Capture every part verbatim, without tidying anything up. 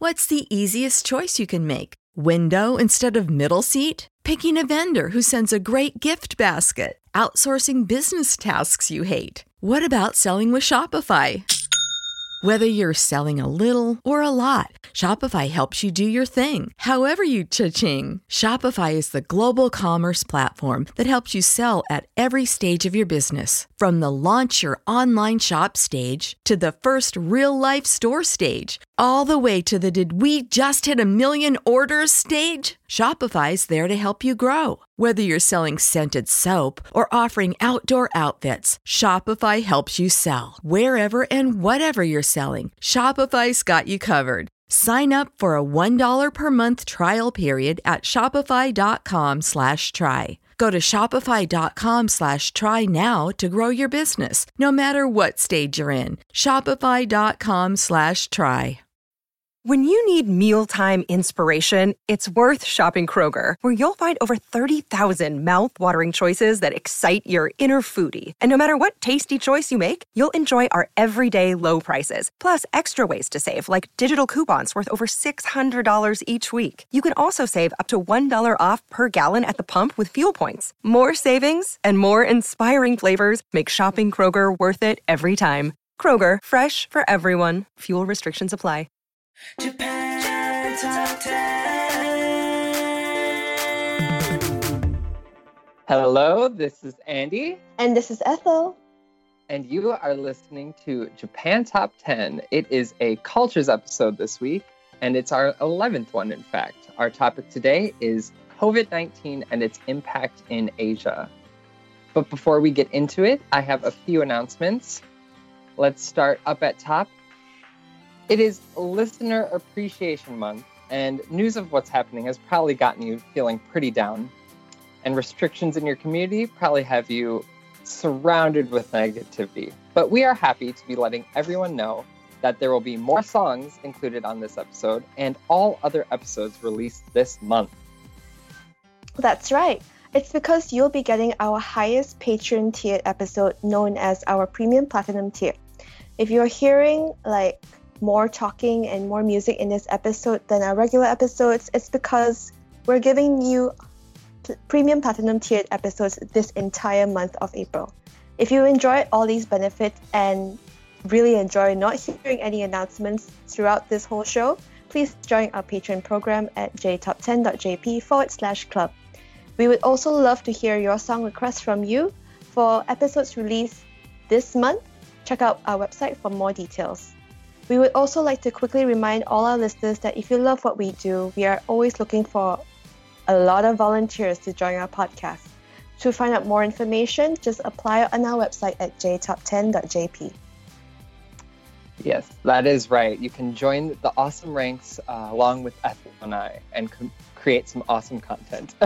What's the easiest choice you can make? Window instead of middle seat? Picking a vendor who sends a great gift basket? Outsourcing business tasks you hate? What about selling with Shopify? Whether you're selling a little or a lot, Shopify helps you do your thing, however you cha-ching. Shopify is the global commerce platform that helps you sell at every stage of your business. From the launch your online shop stage to the first real-life store stage, all the way to the did we just hit a million orders stage. Shopify's there to help you grow. Whether you're selling scented soap or offering outdoor outfits, Shopify helps you sell. Wherever and whatever you're selling, Shopify's got you covered. Sign up for a one dollar per month trial period at shopify.com slash try. Go to shopify.com slash try now to grow your business, no matter what stage you're in. Shopify.com slash try. When you need mealtime inspiration, it's worth shopping Kroger, where you'll find over thirty thousand mouth-watering choices that excite your inner foodie. And no matter what tasty choice you make, you'll enjoy our everyday low prices, plus extra ways to save, like digital coupons worth over six hundred dollars each week. You can also save up to one dollar off per gallon at the pump with fuel points. More savings and more inspiring flavors make shopping Kroger worth it every time. Kroger, fresh for everyone. Fuel restrictions apply. Japan Top ten. Hello, this is Andy. And this is Ethel. And you are listening to Japan Top ten. It is a cultures episode this week, and it's our eleventh one, in fact. Our topic today is covid nineteen and its impact in Asia. But before we get into it, I have a few announcements. Let's start up at top. It is Listener Appreciation Month, and news of what's happening has probably gotten you feeling pretty down. And restrictions in your community probably have you surrounded with negativity. But we are happy to be letting everyone know that there will be more songs included on this episode and all other episodes released this month. That's right. It's because you'll be getting our highest Patreon tiered episode, known as our Premium Platinum tier. If you're hearing like more talking and more music in this episode than our regular episodes, it's because we're giving you p- premium platinum tiered episodes this entire month of April. If you enjoyed all these benefits and really enjoy not hearing any announcements throughout this whole show, please join our Patreon program at jtop10.jp forward slash club. We would also love to hear your song requests from you. For episodes released this month, check out our website for more details. We would also like to quickly remind all our listeners that if you love what we do, we are always looking for a lot of volunteers to join our podcast. To find out more information, just apply on our website at j top ten dot j p. Yes, that is right. You can join the awesome ranks uh, along with Ethel and I and co- create some awesome content.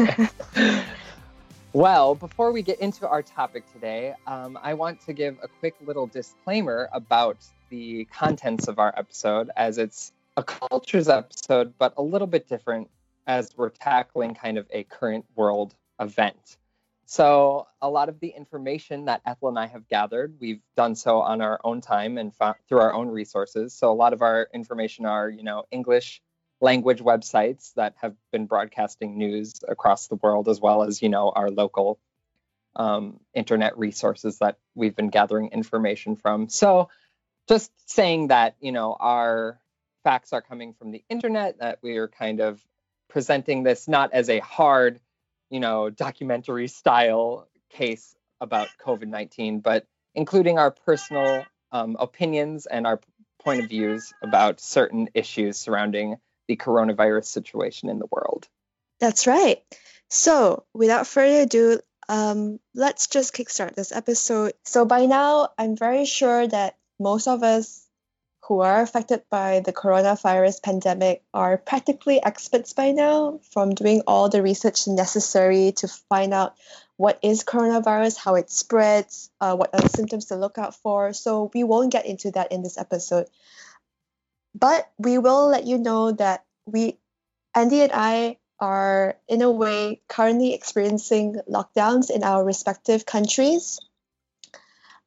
Well, before we get into our topic today, um, I want to give a quick little disclaimer about the contents of our episode, as it's a cultures episode, but a little bit different as we're tackling kind of a current world event. So a lot of the information that Ethel and I have gathered, we've done so on our own time and found, through our own resources. So a lot of our information are, you know, English language websites that have been broadcasting news across the world, as well as, you know, our local um, internet resources that we've been gathering information from. So just saying that, you know, our facts are coming from the internet, that we are kind of presenting this not as a hard, you know, documentary style case about covid nineteen, but including our personal um, opinions and our point of views about certain issues surrounding the coronavirus situation in the world. That's right. So without further ado, um, let's just kickstart this episode. So by now, I'm very sure that most of us who are affected by the coronavirus pandemic are practically experts by now, from doing all the research necessary to find out what is coronavirus, how it spreads, uh, what are the symptoms to look out for. So we won't get into that in this episode. But we will let you know that we, Andy and I, are in a way currently experiencing lockdowns in our respective countries.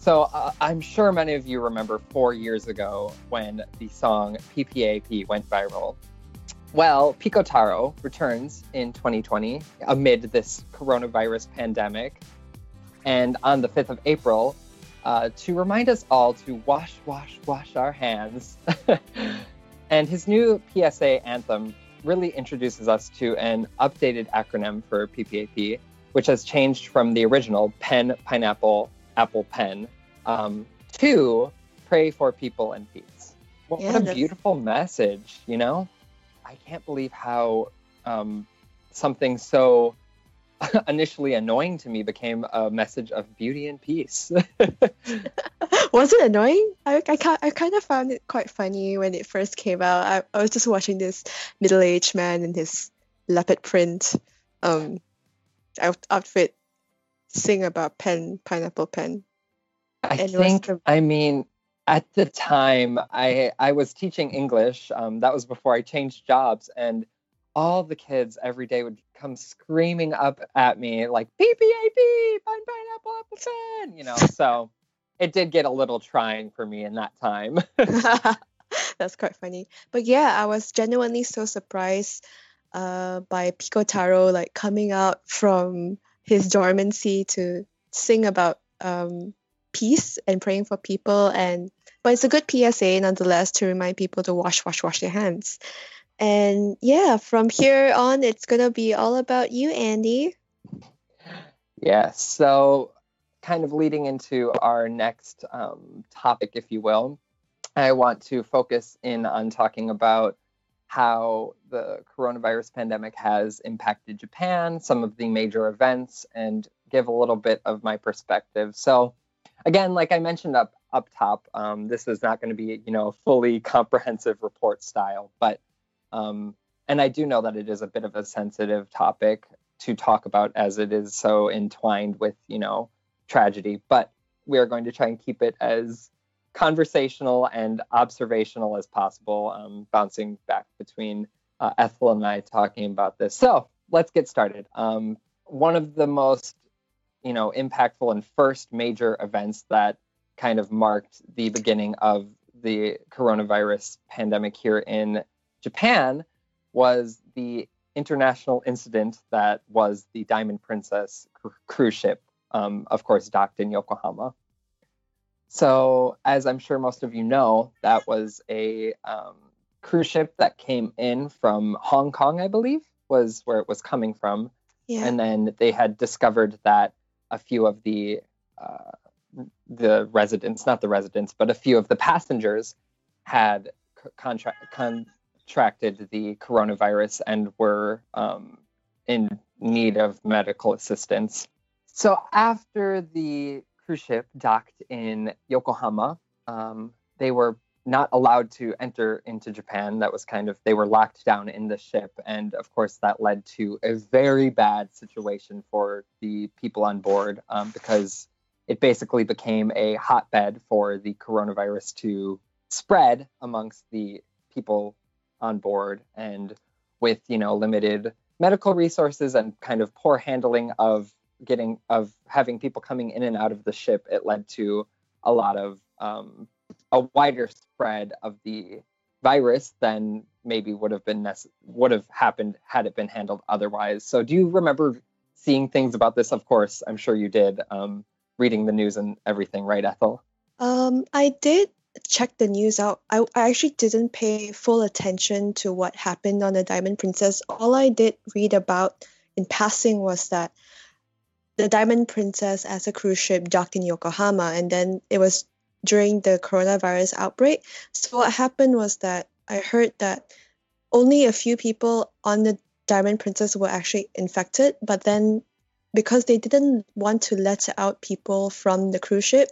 So uh, I'm sure many of you remember four years ago when the song P P A P went viral. Well, Pico Taro returns in twenty twenty amid this coronavirus pandemic. And on the fifth of April, uh, to remind us all to wash, wash, wash our hands. And his new P S A anthem really introduces us to an updated acronym for P P A P, which has changed from the original pen, pineapple, apple, pen, um, to pray for people and peace. What, Yeah, what a that's- beautiful message, you know? I can't believe how um, something so initially annoying to me became a message of beauty and peace. Was it annoying? I, I, ki- I kind of found it quite funny when it first came out. I, I was just watching this middle-aged man in his leopard print um, out- outfit sing about pen, pineapple pen. I And it was think, the- I mean, at the time, I I was teaching English. Um, that was before I changed jobs, and all the kids every day would come screaming up at me like P P A P, pine pineapple apple pen, you know. So it did get a little trying for me in that time. That's quite funny. But yeah, I was genuinely so surprised uh, by Pico Taro like coming out from his dormancy to sing about um, peace and praying for people. And but it's a good P S A nonetheless to remind people to wash, wash, wash their hands. And yeah, from here on, it's gonna be all about you, Andy. Yeah, so kind of leading into our next um, topic, if you will, I want to focus in on talking about how the coronavirus pandemic has impacted Japan, some of the major events, and give a little bit of my perspective. So again, like I mentioned up up top, um, this is not going to be, you know, a fully comprehensive report style, but um, and I do know that it is a bit of a sensitive topic to talk about as it is so entwined with, you know, tragedy, but we are going to try and keep it as conversational and observational as possible, um, bouncing back between uh, Ethel and I talking about this. So let's get started. Um, one of the most, you know, impactful and first major events that kind of marked the beginning of the coronavirus pandemic here in Japan was the international incident that was the Diamond Princess cr- cruise ship, um, of course, docked in Yokohama. So, as I'm sure most of you know, that was a um, cruise ship that came in from Hong Kong, I believe, was where it was coming from. Yeah. And then they had discovered that a few of the uh, the residents, not the residents, but a few of the passengers had c- contra- contracted the coronavirus and were um, in need of medical assistance. So after the cruise ship docked in Yokohama, um, they were not allowed to enter into Japan. That was kind of, they were locked down in the ship. And of course, that led to a very bad situation for the people on board um, because it basically became a hotbed for the coronavirus to spread amongst the people on board. And with, you know, limited medical resources and kind of poor handling of getting, of having people coming in and out of the ship, it led to a lot of, um, a wider spread of the virus than maybe would have been nece- would have happened had it been handled otherwise. So do you remember seeing things about this? Of course, I'm sure you did, um, reading the news and everything, right, Ethel? Um, I did check the news out. I, I actually didn't pay full attention to what happened on the Diamond Princess. All I did read about in passing was that the Diamond Princess as a cruise ship docked in Yokohama, and then it was during the coronavirus outbreak. So what happened was that I heard that only a few people on the Diamond Princess were actually infected, but then because they didn't want to let out people from the cruise ship,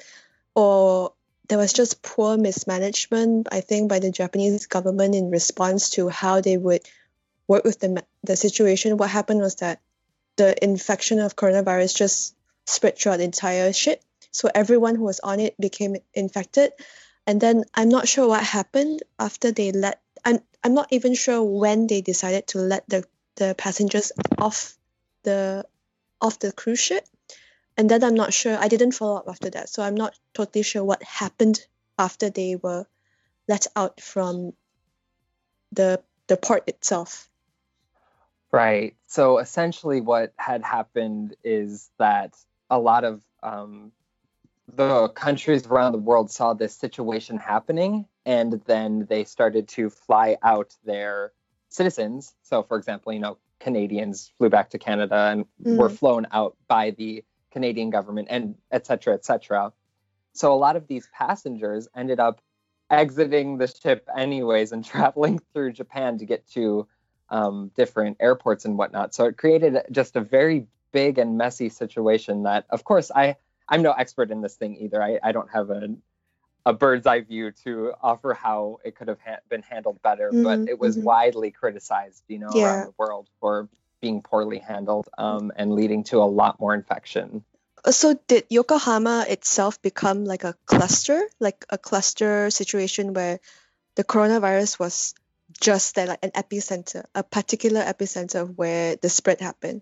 or there was just poor mismanagement, I think, by the Japanese government in response to how they would work with the the situation. What happened was that the infection of coronavirus just spread throughout the entire ship. So everyone who was on it became infected. And then I'm not sure what happened after they let, I'm, I'm not even sure when they decided to let the, the passengers off the off the cruise ship. And then I'm not sure. I didn't follow up after that, so I'm not totally sure what happened after they were let out from the the port itself. Right. So essentially, what had happened is that a lot of um, the countries around the world saw this situation happening, and then they started to fly out their citizens. So, for example, you know, Canadians flew back to Canada and Mm. were flown out by the Canadian government, and et cetera, et cetera. So a lot of these passengers ended up exiting the ship anyways and traveling through Japan to get to um, different airports and whatnot. So it created just a very big and messy situation that, of course, I, I'm no expert in this thing either. I, I don't have a, a bird's eye view to offer how it could have ha- been handled better, Mhm, but it was mhm. widely criticized, you know, Yeah. around the world for being poorly handled um, and leading to a lot more infection. Uh, So did Yokohama itself become like a cluster, like a cluster situation where the coronavirus was just there, like an epicenter, a particular epicenter of where the spread happened?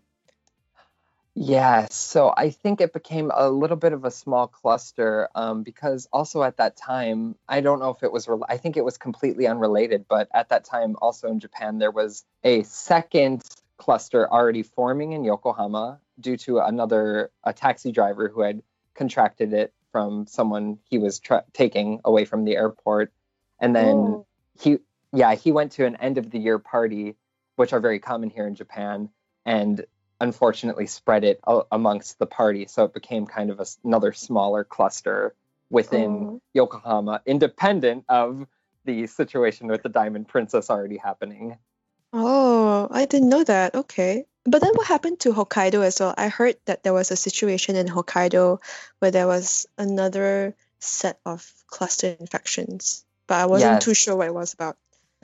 Yes, so I think it became a little bit of a small cluster um, because also at that time, I don't know if it was, rel- I think it was completely unrelated, but at that time also in Japan, there was a second cluster already forming in Yokohama due to another, a taxi driver who had contracted it from someone he was tra- taking away from the airport. And then Oh. he, yeah, he went to an end of the year party, which are very common here in Japan, and unfortunately spread it a- amongst the party. So it became kind of a s another smaller cluster within Oh. Yokohama, independent of the situation with the Diamond Princess already happening. Oh, I didn't know that. Okay. But then what happened to Hokkaido as well? I heard that there was a situation in Hokkaido where there was another set of cluster infections, but I wasn't too Yes. sure what it was about.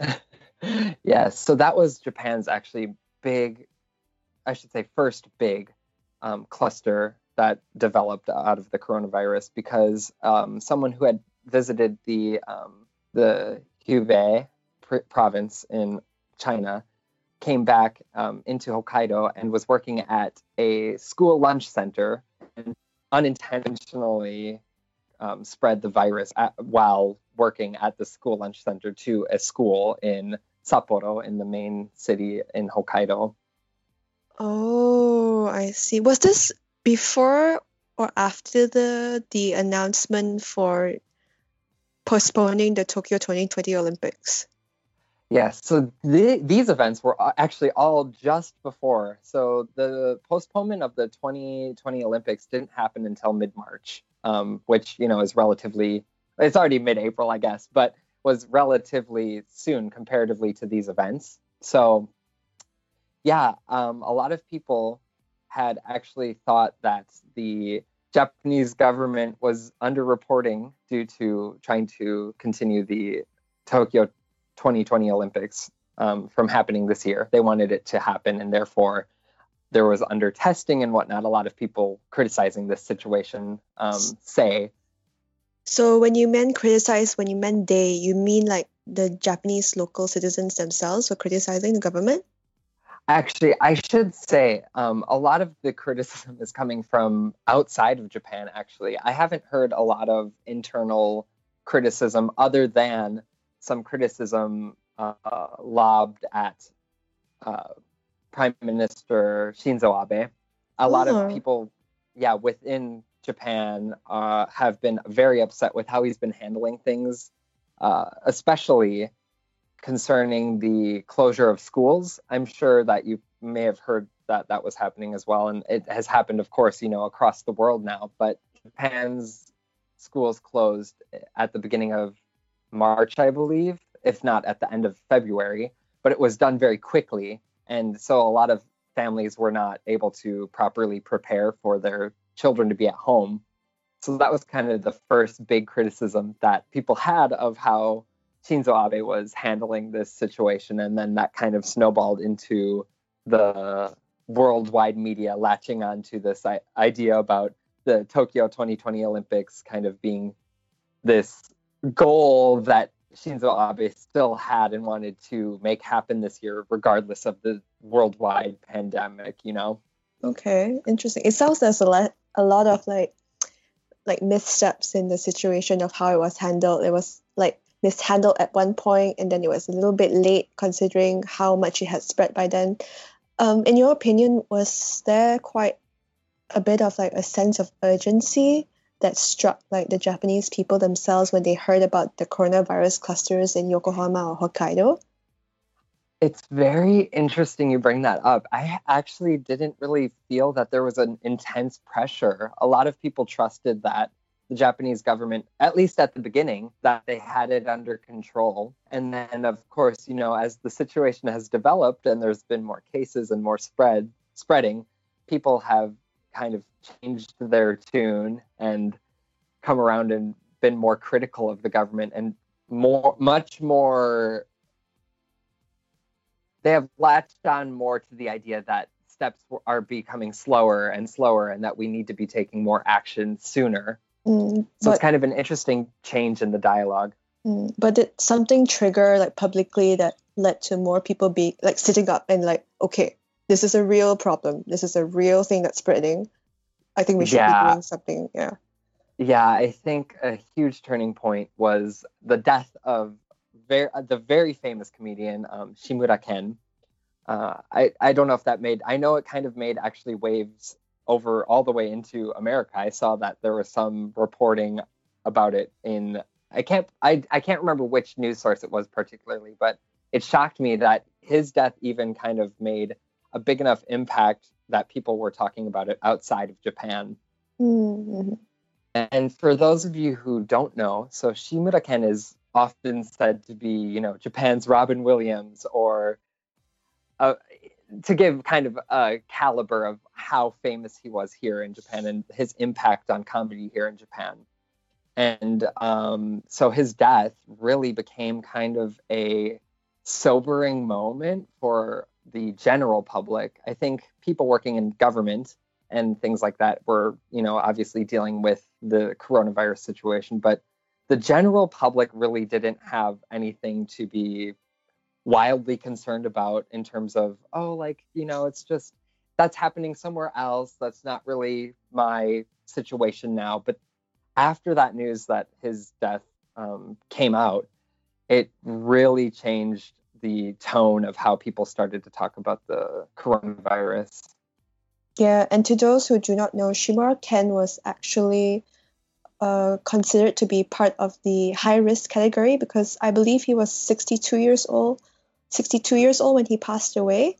Yes, so that was Japan's actually big, I should say, first big um, cluster that developed out of the coronavirus because um, someone who had visited the um, the Hubei pr- province in China came back um, into Hokkaido and was working at a school lunch center and unintentionally um, spread the virus at, while working at the school lunch center to a school in Sapporo, in the main city in Hokkaido. Oh, I see. Was this before or after the the announcement for postponing the Tokyo twenty twenty Olympics? Yes, so the, these events were a- actually all just before. So the postponement of the twenty twenty Olympics didn't happen until mid-March, um, which, you know, is relatively, it's already mid-April, I guess, but was relatively soon comparatively to these events. So yeah, um, a lot of people had actually thought that the Japanese government was underreporting due to trying to continue the Tokyo twenty twenty Olympics um, from happening this year. They wanted it to happen, and therefore there was under testing and whatnot. A lot of people criticizing this situation um, say, So when you meant criticize, when you meant they, you mean like the Japanese local citizens themselves were criticizing the government? actually, I should say um, a lot of the criticism is coming from outside of Japan, actually. I haven't heard a lot of internal criticism other than some criticism uh, lobbed at uh, Prime Minister Shinzo Abe. A lot Oh. of people, yeah, within Japan uh, have been very upset with how he's been handling things, uh, especially concerning the closure of schools. I'm sure that you may have heard that that was happening as well. And it has happened, of course, you know, across the world now. But Japan's schools closed at the beginning of March, I believe, if not at the end of February. But it was done very quickly. And so a lot of families were not able to properly prepare for their children to be at home. So that was kind of the first big criticism that people had of how Shinzo Abe was handling this situation. And then that kind of snowballed into the worldwide media latching onto this I- idea about the Tokyo twenty twenty Olympics kind of being this goal that Shinzo Abe still had and wanted to make happen this year, regardless of the worldwide pandemic, you know? Okay, interesting. It sounds as a le- a lot of like like missteps in the situation of how it was handled. It was like mishandled at one point, and then it was a little bit late considering how much it had spread by then. Um, in your opinion, was there quite a bit of like a sense of urgency that struck like the Japanese people themselves when they heard about the coronavirus clusters in Yokohama or Hokkaido? It's very interesting you bring that up. I actually didn't really feel that there was an intense pressure. A lot of people trusted that the Japanese government, at least at the beginning, that they had it under control. And then, of course, you know, as the situation has developed and there's been more cases and more spread spreading, people have kind of changed their tune and come around and been more critical of the government and more, much more. They have latched on more to the idea that steps are becoming slower and slower and that we need to be taking more action sooner. Mm, so but, it's kind of an interesting change in the dialogue. Mm, but did something trigger like publicly that led to more people be like sitting up and like, okay, this is a real problem. This is a real thing that's spreading. I think we should yeah. be doing something. Yeah. Yeah, I think a huge turning point was the death of very, the very famous comedian um, Shimura Ken. Uh, I, I don't know if that made, I know it kind of made actually waves over all the way into America. I saw that there was some reporting about it in, I can't, I, I can't remember which news source it was particularly, but it shocked me that his death even kind of made a big enough impact that people were talking about it outside of Japan. Mm-hmm. And for those of you who don't know, so Shimura Ken is often said to be, you know, Japan's Robin Williams, or uh, to give kind of a caliber of how famous he was here in Japan and his impact on comedy here in Japan. And um, so his death really became kind of a sobering moment for the general public. I think people working in government and things like that were, you know, obviously dealing with the coronavirus situation, but the general public really didn't have anything to be wildly concerned about in terms of, oh, like, you know, it's just, that's happening somewhere else. That's not really my situation now. But after that news that his death um, came out, it really changed the tone of how people started to talk about the coronavirus. Yeah, and to those who do not know, Shimura Ken was actually uh, considered to be part of the high-risk category because I believe he was sixty-two years old, sixty-two years old when he passed away.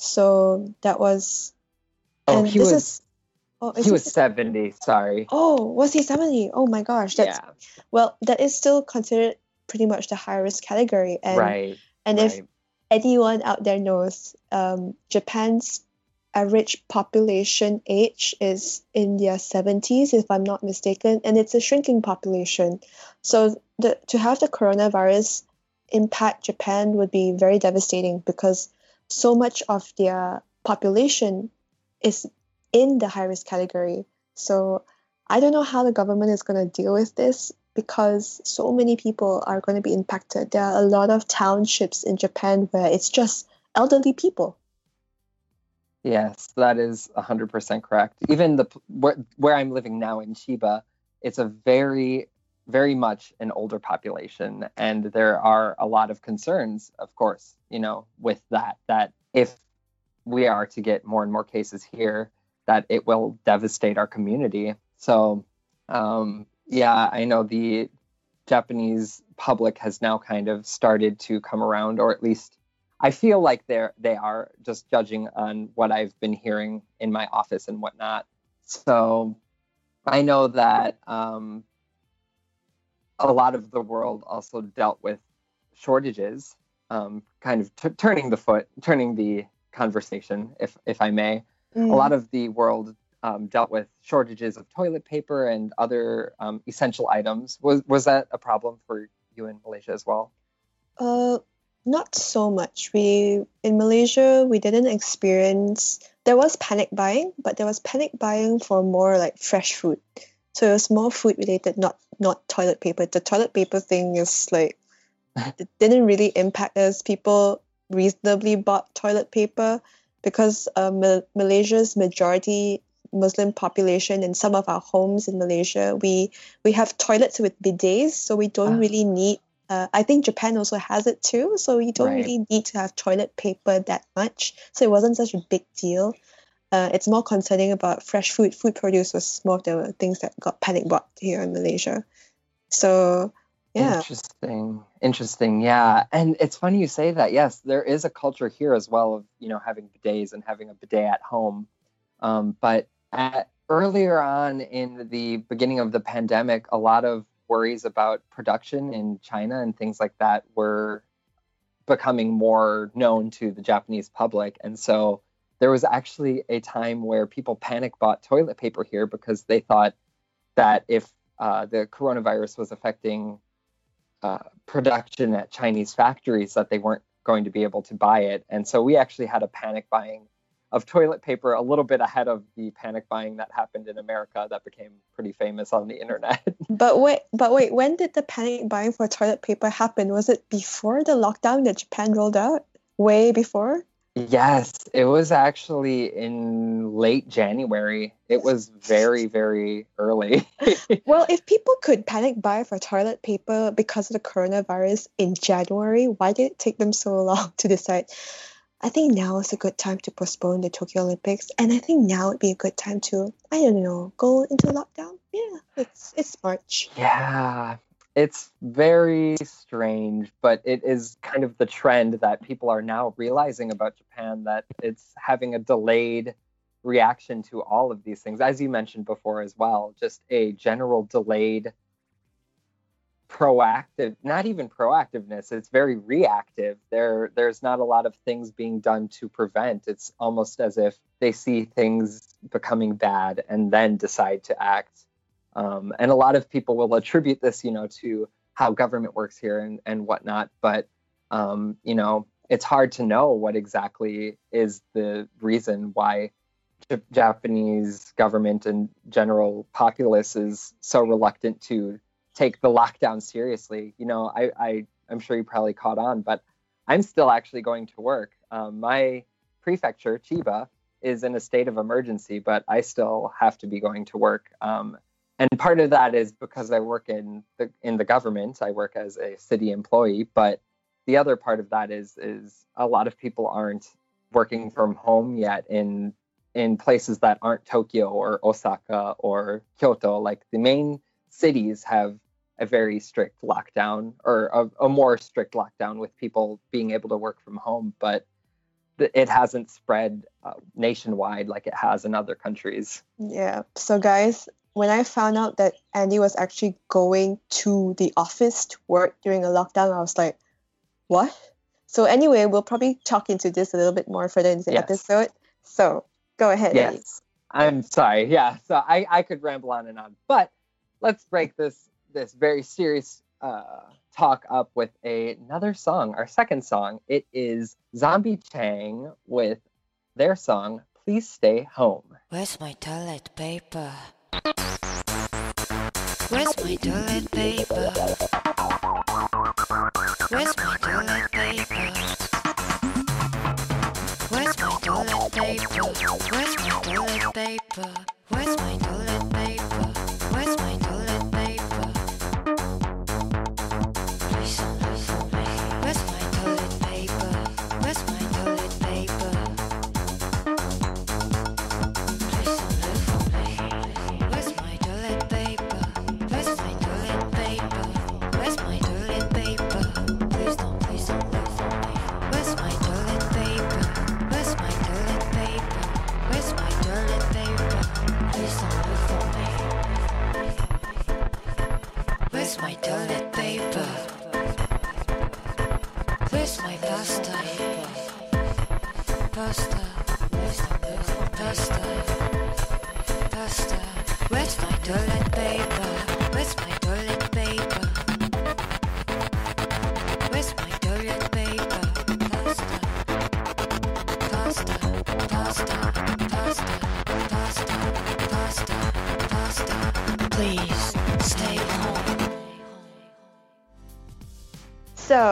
So that was... Oh, and he this was... Is, oh, is he was this, seventy, sorry. Oh, was he seventy? Oh my gosh. That's, yeah. Well, that is still considered pretty much the high-risk category. And, right. And right. if anyone out there knows, um, Japan's average population age is in their seventies, if I'm not mistaken, and it's a shrinking population. So the, to have the coronavirus impact Japan would be very devastating because so much of their population is in the high-risk category. So I don't know how the government is going to deal with this because so many people are going to be impacted. There are a lot of townships in Japan where it's just elderly people. Yes, that is one hundred percent correct. Even the where, where I'm living now in Chiba, it's a very, very much an older population. And there are a lot of concerns, of course, you know, with that, that if we are to get more and more cases here, that it will devastate our community. So, um, yeah, I know the Japanese public has now kind of started to come around, or at least I feel like they're they are just judging on what I've been hearing in my office and whatnot. So I know that um, a lot of the world also dealt with shortages, um, kind of t- turning the foot, turning the conversation, if if I may. Mm. A lot of the world um, dealt with shortages of toilet paper and other um, essential items. Was was that a problem for you in Malaysia as well? Uh. Not so much. We in Malaysia, we didn't experience, there was panic buying, but there was panic buying for more like fresh food. So it was more food related, not not toilet paper. The toilet paper thing is like, it didn't really impact us. People reasonably bought toilet paper because uh, Ma- Malaysia's majority Muslim population in some of our homes in Malaysia, we we have toilets with bidets, so we don't Ah. really need. Uh, I think Japan also has it too, so you don't Right. really need to have toilet paper that much. So it wasn't such a big deal. Uh, it's more concerning about fresh food. Food produce was more of the things that got panic bought here in Malaysia. So yeah, Interesting. Interesting. Yeah. And it's funny you say that. Yes, there is a culture here as well of, you know, having bidets and having a bidet at home. Um, but at, earlier on in the beginning of the pandemic, a lot of worries about production in China and things like that were becoming more known to the Japanese public. And so there was actually a time where people panic bought toilet paper here because they thought that if uh, the coronavirus was affecting uh, production at Chinese factories, that they weren't going to be able to buy it. And so we actually had a panic buying of toilet paper a little bit ahead of the panic buying that happened in America that became pretty famous on the internet. but wait, but wait, when did the panic buying for toilet paper happen? Was it before the lockdown that Japan rolled out? Way before? Yes, it was actually in late January. It was very, very early. Well, if people could panic buy for toilet paper because of the coronavirus in January, why did it take them so long to decide? I think now is a good time to postpone the Tokyo Olympics, and I think now would be a good time to, I don't know, go into lockdown. Yeah, it's it's March. Yeah, it's very strange, but it is kind of the trend that people are now realizing about Japan, that it's having a delayed reaction to all of these things. As you mentioned before as well, just a general delayed proactive, not even proactiveness, it's very reactive. There there's not a lot of things being done to prevent. It's almost as if they see things becoming bad and then decide to act. Um, and a lot of people will attribute this, you know, to how government works here and, and whatnot. But, um, you know, it's hard to know what exactly is the reason why J- Japanese government and general populace is so reluctant to take the lockdown seriously. You know, I, I, I'm sure you probably caught on, but I'm still actually going to work. Um, my prefecture, Chiba, is in a state of emergency, but I still have to be going to work. Um, and part of that is because I work in the in the government. I work as a city employee, but the other part of that is is a lot of people aren't working from home yet in in places that aren't Tokyo or Osaka or Kyoto. Like the main cities have a very strict lockdown, or a, a more strict lockdown with people being able to work from home, but th- it hasn't spread uh, nationwide like it has in other countries. Yeah. So guys, when I found out that Andy was actually going to the office to work during a lockdown, I was like, what? So anyway, we'll probably talk into this a little bit more further in the Yes. episode. So go ahead, Andy. Yes, I'm sorry. Yeah, so I, I could ramble on and on, but let's break this this very serious uh, talk up with a, another song, our second song. It is Zombie Chang with their song, Please Stay Home. Where's my toilet paper? Where's my toilet paper? Where's my toilet paper? Where's my toilet paper? Where's my toilet paper? Where's my toilet paper? Where's my toilet paper? Please don't look for me. Where's my toilet paper? Where's my toilet paper? Please don't look for me. Where's my toilet paper? Where's my toilet paper? Where's my toilet paper? Please don't, please don't look for me. Where's my toilet paper? Where's my toilet paper? Where's my toilet paper? Please don't look for me. Where's my toilet paper? Where's my pasta? Pasta. Pasta. Pasta. Where's my toilet paper? Where's my toilet paper? Where's my toilet paper? Pasta. Pasta. Pasta. Pasta. Pasta. Pasta. Pasta. Please stay home. So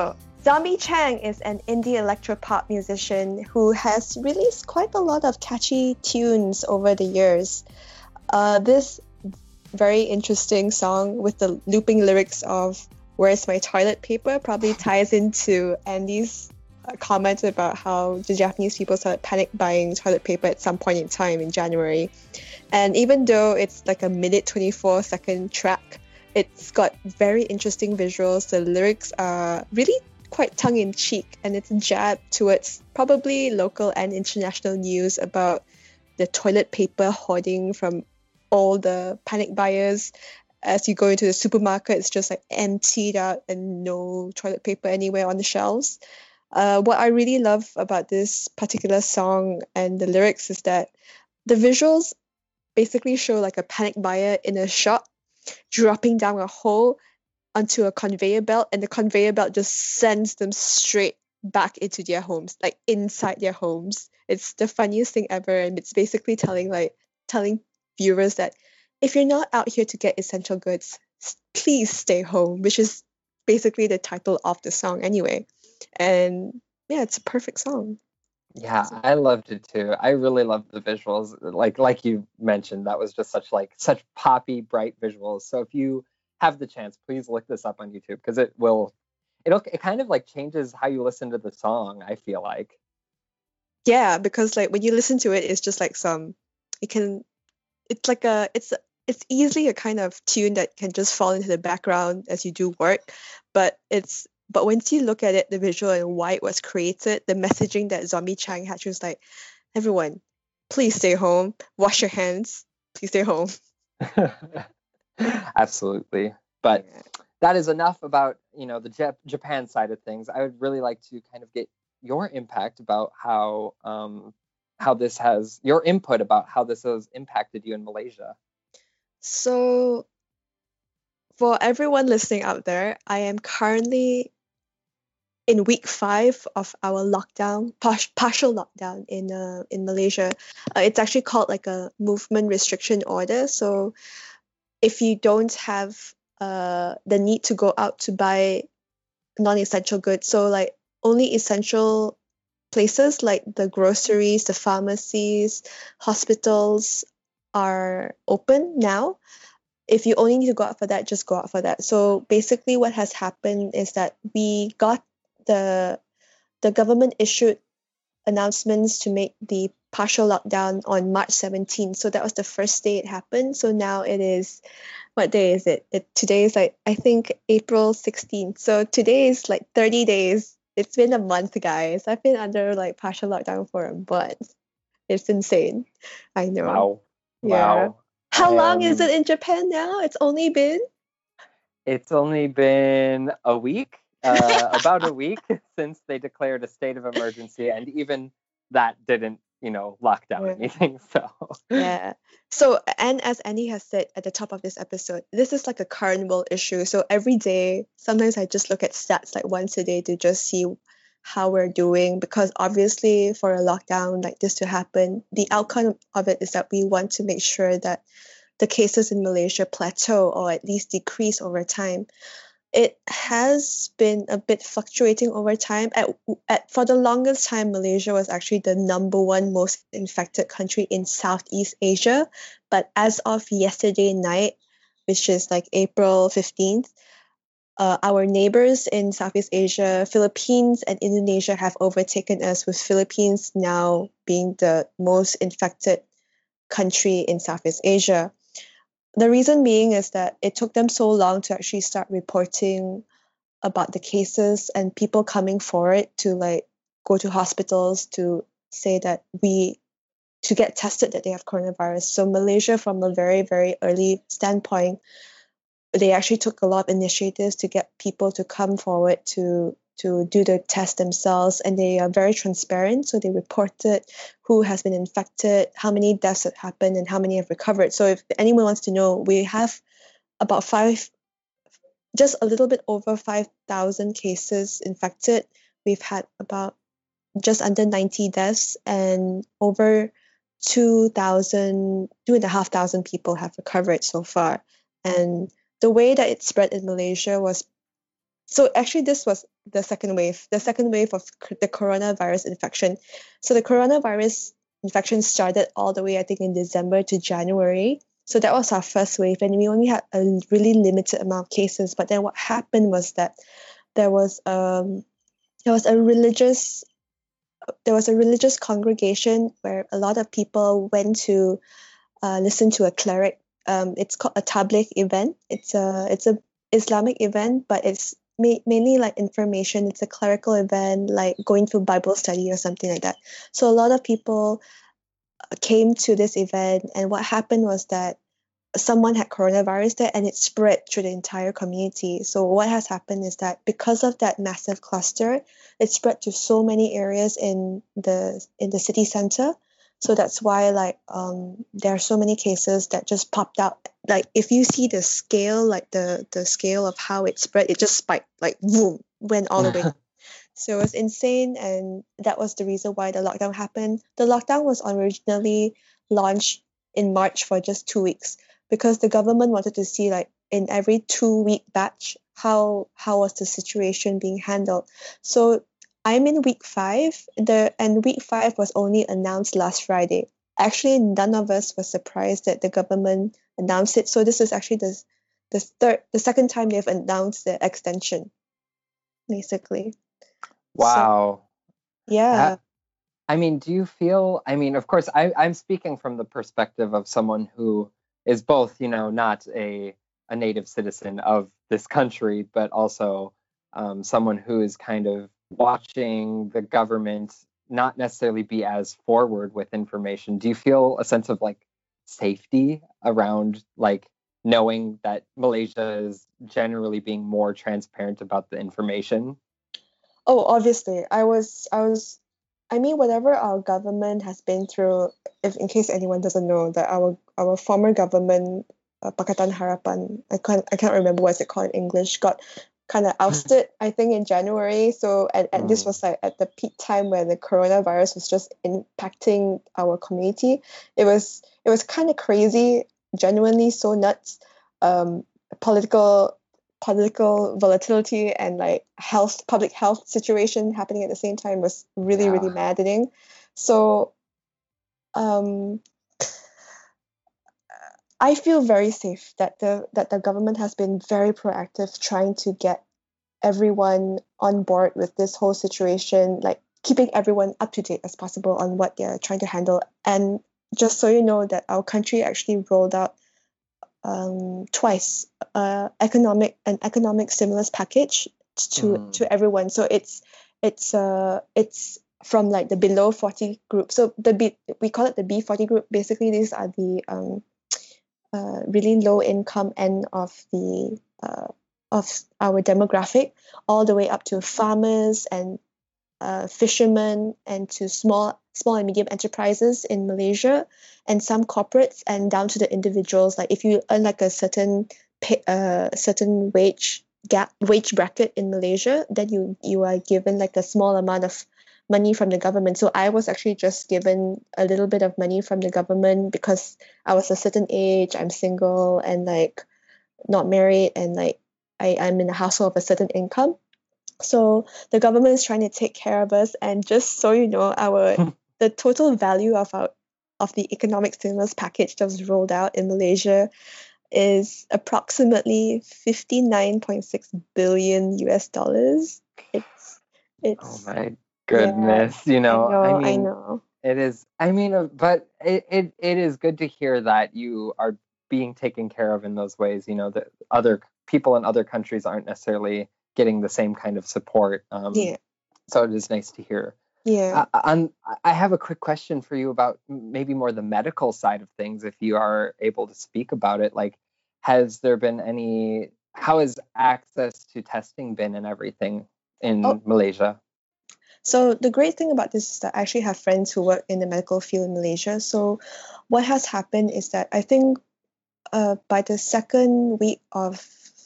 Zombie Chang is an indie electropop musician who has released quite a lot of catchy tunes over the years. Uh, this very interesting song with the looping lyrics of "Where's my toilet paper" probably ties into Andy's uh, comment about how the Japanese people started panic buying toilet paper at some point in time in January. And even though it's like a minute twenty-four second track, it's got very interesting visuals. The lyrics are really quite tongue-in-cheek, and it's a jab towards probably local and international news about the toilet paper hoarding from all the panic buyers. As you go into the supermarket, it's just like emptied out and no toilet paper anywhere on the shelves. Uh, what I really love about this particular song and the lyrics is that the visuals basically show like a panic buyer in a shop dropping down a hole onto a conveyor belt, and the conveyor belt just sends them straight back into their homes, like inside their homes. It's the funniest thing ever, and it's basically telling like telling viewers that if you're not out here to get essential goods, s- please stay home, which is basically the title of the song anyway. And yeah, it's a perfect song. Yeah, I loved it too. I really loved the visuals. Like like you mentioned, that was just such like such poppy, bright visuals. So if you have the chance, please look this up on YouTube because it will it'll it kind of like changes how you listen to the song, I feel like. Yeah, because like when you listen to it, it's just like some, it can, it's like a, it's it's easily a kind of tune that can just fall into the background as you do work, but it's but once you look at it, the visual and why it was created, the messaging that Zombie Chang had was like, everyone, please stay home, wash your hands, please stay home. Absolutely. But Yeah. that is enough about, you know, the Jap- Japan side of things. I would really like to kind of get your impact about how um how this has your input about how this has impacted you in Malaysia. So for everyone listening out there, I am currently in week five of our lockdown, par- partial lockdown in uh, in Malaysia. Uh, it's actually called like a movement restriction order. So if you don't have uh, the need to go out to buy non-essential goods, so like only essential places like the groceries, the pharmacies, hospitals are open now. If you only need to go out for that, just go out for that. So basically what has happened is that we got the the government issued announcements to make the partial lockdown on March seventeenth. So that was the first day it happened. So now it is, what day is it? It today is like, I think April sixteenth. So today is like thirty days. It's been a month, guys. I've been under like partial lockdown for a month. It's insane. I know. Wow. Yeah. Wow. How I long is am- it in Japan now? It's only been It's only been a week, uh, about a week since they declared a state of emergency, and even that didn't, you know, lock down Yeah. anything. So Yeah. So, and as Annie has said at the top of this episode, this is like a current world issue. So every day, sometimes I just look at stats like once a day to just see how we're doing, because obviously for a lockdown like this to happen, the outcome of it is that we want to make sure that the cases in Malaysia plateau or at least decrease over time. It has been a bit fluctuating over time. At, at for the longest time, Malaysia was actually the number one most infected country in Southeast Asia. But as of yesterday night, which is like April fifteenth, uh, our neighbors in Southeast Asia, Philippines and Indonesia, have overtaken us, with Philippines now being the most infected country in Southeast Asia. The reason being is that it took them so long to actually start reporting about the cases and people coming forward to like go to hospitals to say that we to get tested that they have coronavirus. So Malaysia, from a very, very early standpoint, they actually took a lot of initiatives to get people to come forward to to do the test themselves, and they are very transparent. So they reported who has been infected, how many deaths have happened, and how many have recovered. So if anyone wants to know, we have about five, just a little bit over five thousand cases infected. We've had about just under ninety deaths, and over two thousand, two and a half thousand people have recovered so far. And the way that it spread in Malaysia was So actually, this was the second wave, the second wave of c- the coronavirus infection. So the coronavirus infection started all the way, I think, in December to January. So that was our first wave, and we only had a really limited amount of cases. But then what happened was that there was um there was a religious there was a religious congregation where a lot of people went to uh, listen to a cleric. Um, it's called a tabligh event. It's a it's a Islamic event, but it's ma- mainly like information. It's a clerical event, like going to Bible study or something like that. So a lot of people came to this event, and what happened was that someone had coronavirus there and it spread through the entire community. So what has happened is that because of that massive cluster, it spread to so many areas in the in the city center. So that's why like um there are so many cases that just popped out. Like if you see the scale, like the the scale of how it spread, it just spiked, like boom, went all the way. So it was insane, and that was the reason why the lockdown happened. The lockdown was originally launched in March for just two weeks because the government wanted to see, like, in every two week batch how how was the situation being handled. So I'm in week five. The and week five was only announced last Friday. Actually, none of us were surprised that the government announced it. So this is actually the the third, the second time they've announced the extension, basically. Wow. Yeah. That, I mean, do you feel, I mean, of course, I, I'm speaking from the perspective of someone who is both, you know, not a, a native citizen of this country, but also um, someone who is kind of watching the government not necessarily be as forward with information. Do you feel a sense of like safety around like knowing that Malaysia is generally being more transparent about the information? Oh, obviously, I was, I was, I mean, whatever our government has been through, if in case anyone doesn't know, that our our former government, uh, Pakatan Harapan, I can't, I can't remember what's it called in English, got kind of ousted, I think, in January. So, and, and this Mm. was like at the peak time where the coronavirus was just impacting our community. It was, it was kind of crazy, genuinely so nuts. Um, political political volatility and like health public health situation happening at the same time was really really Yeah. maddening. So um I feel very safe that the that the government has been very proactive trying to get everyone on board with this whole situation, like keeping everyone up to date as possible on what they're trying to handle. And just so you know that our country actually rolled out um, twice uh, economic an economic stimulus package to Mm. to everyone. So it's it's uh it's from like the below forty group. So the B, we call it the B forty group. Basically, these are the um uh, really low income end of the uh, of our demographic, all the way up to farmers and uh, fishermen, and to small small and medium enterprises in Malaysia, and some corporates, and down to the individuals. Like if you earn like a certain pay, uh, certain wage gap wage bracket in Malaysia, then you you are given like a small amount of money from the government. So I was actually just given a little bit of money from the government because I was a certain age, I'm single and like not married, and like I, I'm in a household of a certain income. So the government is trying to take care of us, and just so you know, our the total value of our of the economic stimulus package that was rolled out in Malaysia is approximately fifty-nine point six billion U S dollars. It's Oh it's my yeah, goodness. You I know, I know, I mean, know. it is, I mean, uh, but it, it, it is good to hear that you are being taken care of in those ways, you know, that other people in other countries aren't necessarily getting the same kind of support. Um, Yeah, so it is nice to hear. yeah. Uh, on, I have a quick question for you about maybe more the medical side of things, if you are able to speak about it. Like, has there been any, how has access to testing been and everything Oh, in Malaysia? so the great thing about this is that I actually have friends who work in the medical field in Malaysia. So what has happened is that I think uh, by the second week of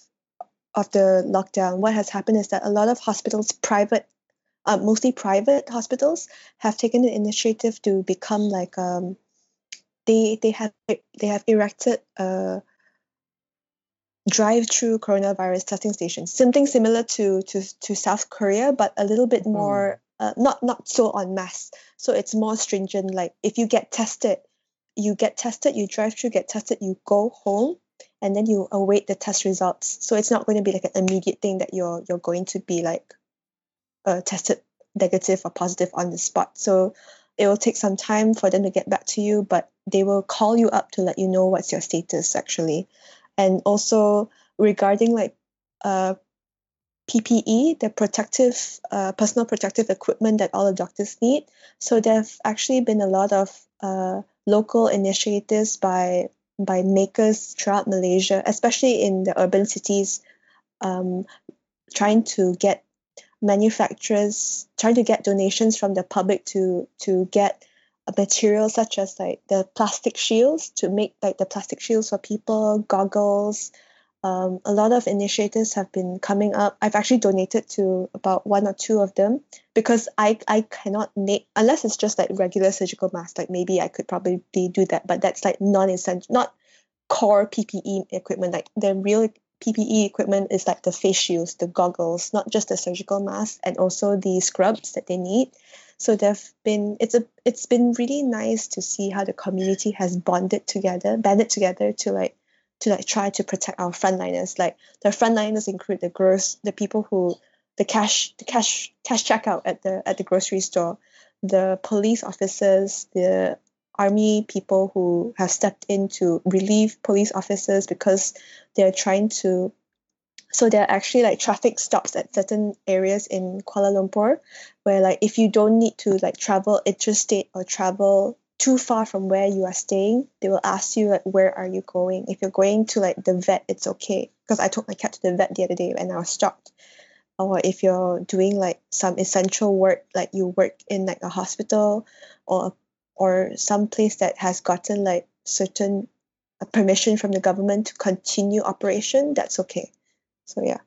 of the lockdown, what has happened is that a lot of hospitals, private, uh, mostly private hospitals, have taken the initiative to become like um, they they have they have erected uh, drive-through coronavirus testing stations, something similar to to, to South Korea, but a little bit more uh, not not so en masse. So it's more stringent. Like if you get tested, you get tested, you drive through, get tested, you go home, and then you await the test results. So it's not going to be like an immediate thing that you're you're going to be like uh, tested negative or positive on the spot. So it will take some time for them to get back to you, but they will call you up to let you know what's your status actually. And also regarding like uh, P P E, the protective, uh, personal protective equipment that all the doctors need. So there have actually been a lot of uh, local initiatives by by makers throughout Malaysia, especially in the urban cities, um, trying to get manufacturers, trying to get donations from the public to to get a material such as like the plastic shields, to make like the plastic shields for people, goggles. Um, a lot of initiatives have been coming up. I've actually donated to about one or two of them because I I cannot make, unless it's just like regular surgical masks, like maybe I could probably do that, but that's like non-essential, not core P P E equipment. Like the real P P E equipment is like the face shields, the goggles, not just the surgical masks, and also the scrubs that they need. So there've been it's a it's been really nice to see how the community has bonded together, banded together to like to like try to protect our frontliners. Like the frontliners include the gross the people who the cash the cash cash checkout at the at the grocery store, the police officers, the army people who have stepped in to relieve police officers because they're trying to. So there are actually like traffic stops at certain areas in Kuala Lumpur where like if you don't need to like travel interstate or travel too far from where you are staying, they will ask you like where are you going. If you're going to like the vet, it's okay, because I took my cat to the vet the other day and I was stopped. Or if you're doing like some essential work, like you work in like a hospital or or some place that has gotten like certain uh, permission from the government to continue operation, that's okay. So yeah.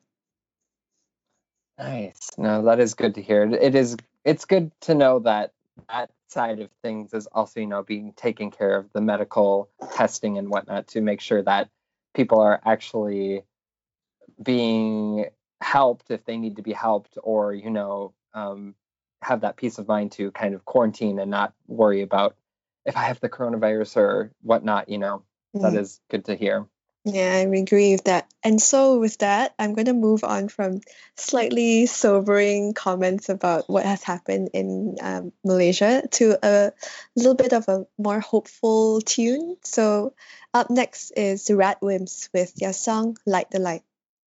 Nice. No, that is good to hear. It is. It's good to know that that side of things is also, you know, being taken care of, the medical testing and whatnot, to make sure that people are actually being helped if they need to be helped, or you know, um, have that peace of mind to kind of quarantine and not worry about if I have the coronavirus or whatnot. You know, mm. that is good to hear. Yeah, I agree with that. And so with that, I'm going to move on from slightly sobering comments about what has happened in um, Malaysia to a little bit of a more hopeful tune. So up next is the Radwimps with their song Light the Light.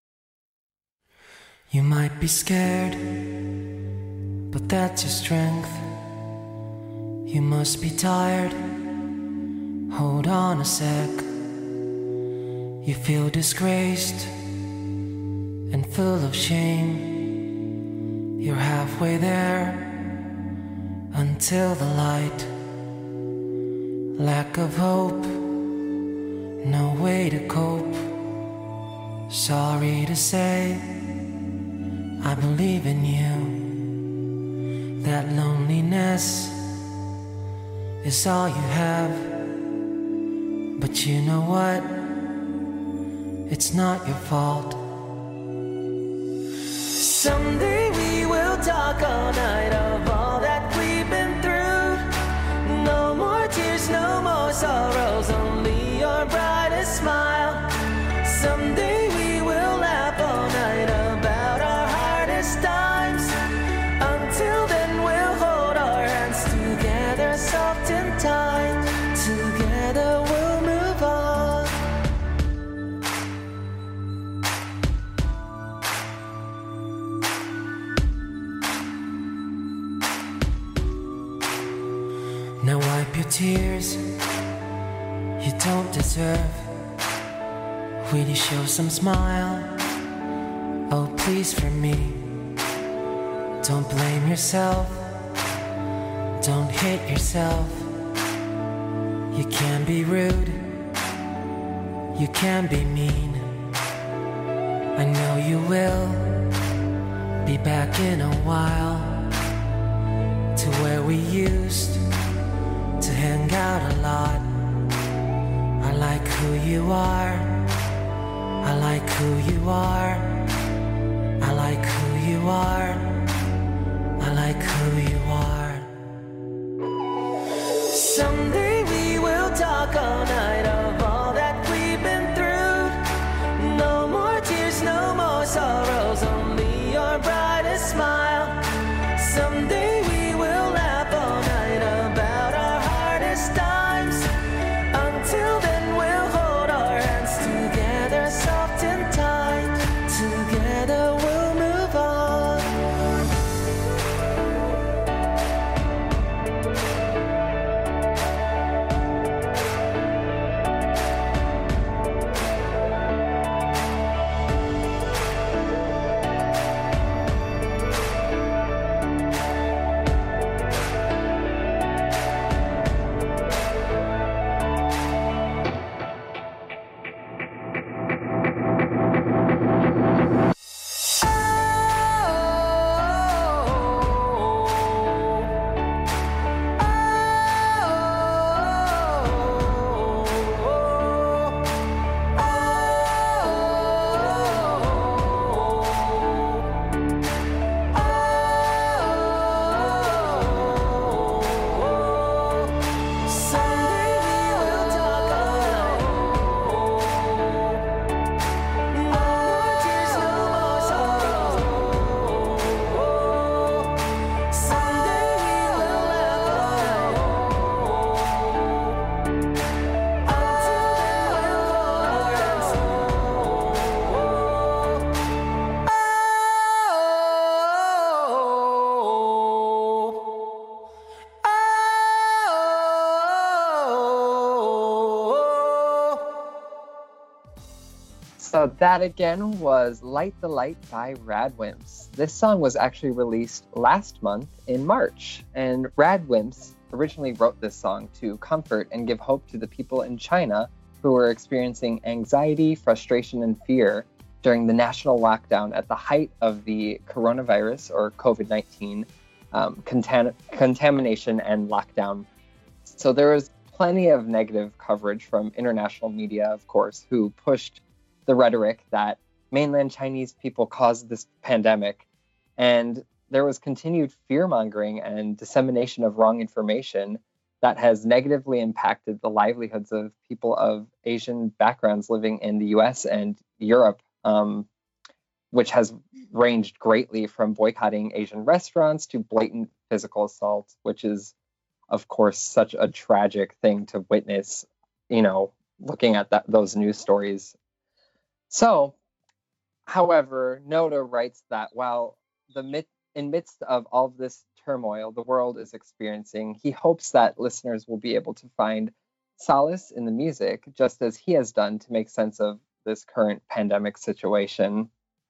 You might be scared, but that's your strength. You must be tired. Hold on a sec. You feel disgraced and full of shame. You're halfway there until the light. Lack of hope, no way to cope. Sorry to say, I believe in you. That loneliness is all you have. But you know what? It's not your fault. Someday we will talk all night of all that we've been through. No more tears, no more sorrows, only your brightest smile. Someday we will laugh all night about our hardest times. Until then we'll hold our hands together, soft and tight. Together we'll move on. Now wipe your tears, you don't deserve. Will you show some smile? Oh, please, for me. Don't blame yourself, don't hate yourself. You can be rude, you can be mean. I know you will be back in a while to where we used to hang out a lot. I like who you are, I like who you are. I like who you are. I like who you are. Someday we will talk all night of all that we've been through. No more tears, no more sorrows, only your brightest smile. Someday we will laugh all night about our hardest times. Until then we'll hold our hands together, soft and tight. Together we'll move on. So that again was Light the Light by Radwimps. This song was actually released last month in March, and Radwimps originally wrote this song to comfort and give hope to the people in China who were experiencing anxiety, frustration, and fear during the national lockdown at the height of the coronavirus or COVID nineteen um, contam- contamination and lockdown. So there was plenty of negative coverage from international media, of course, who pushed the rhetoric that mainland Chinese people caused this pandemic. And there was continued fear-mongering and dissemination of wrong information that has negatively impacted the livelihoods of people of Asian backgrounds living in the U S and Europe, um, which has ranged greatly from boycotting Asian restaurants to blatant physical assault, which is, of course, such a tragic thing to witness, you know, looking at that, those news stories. So, however, Noda writes that while the mid- in midst of all of this turmoil the world is experiencing, he hopes that listeners will be able to find solace in the music, just as he has done to make sense of this current pandemic situation.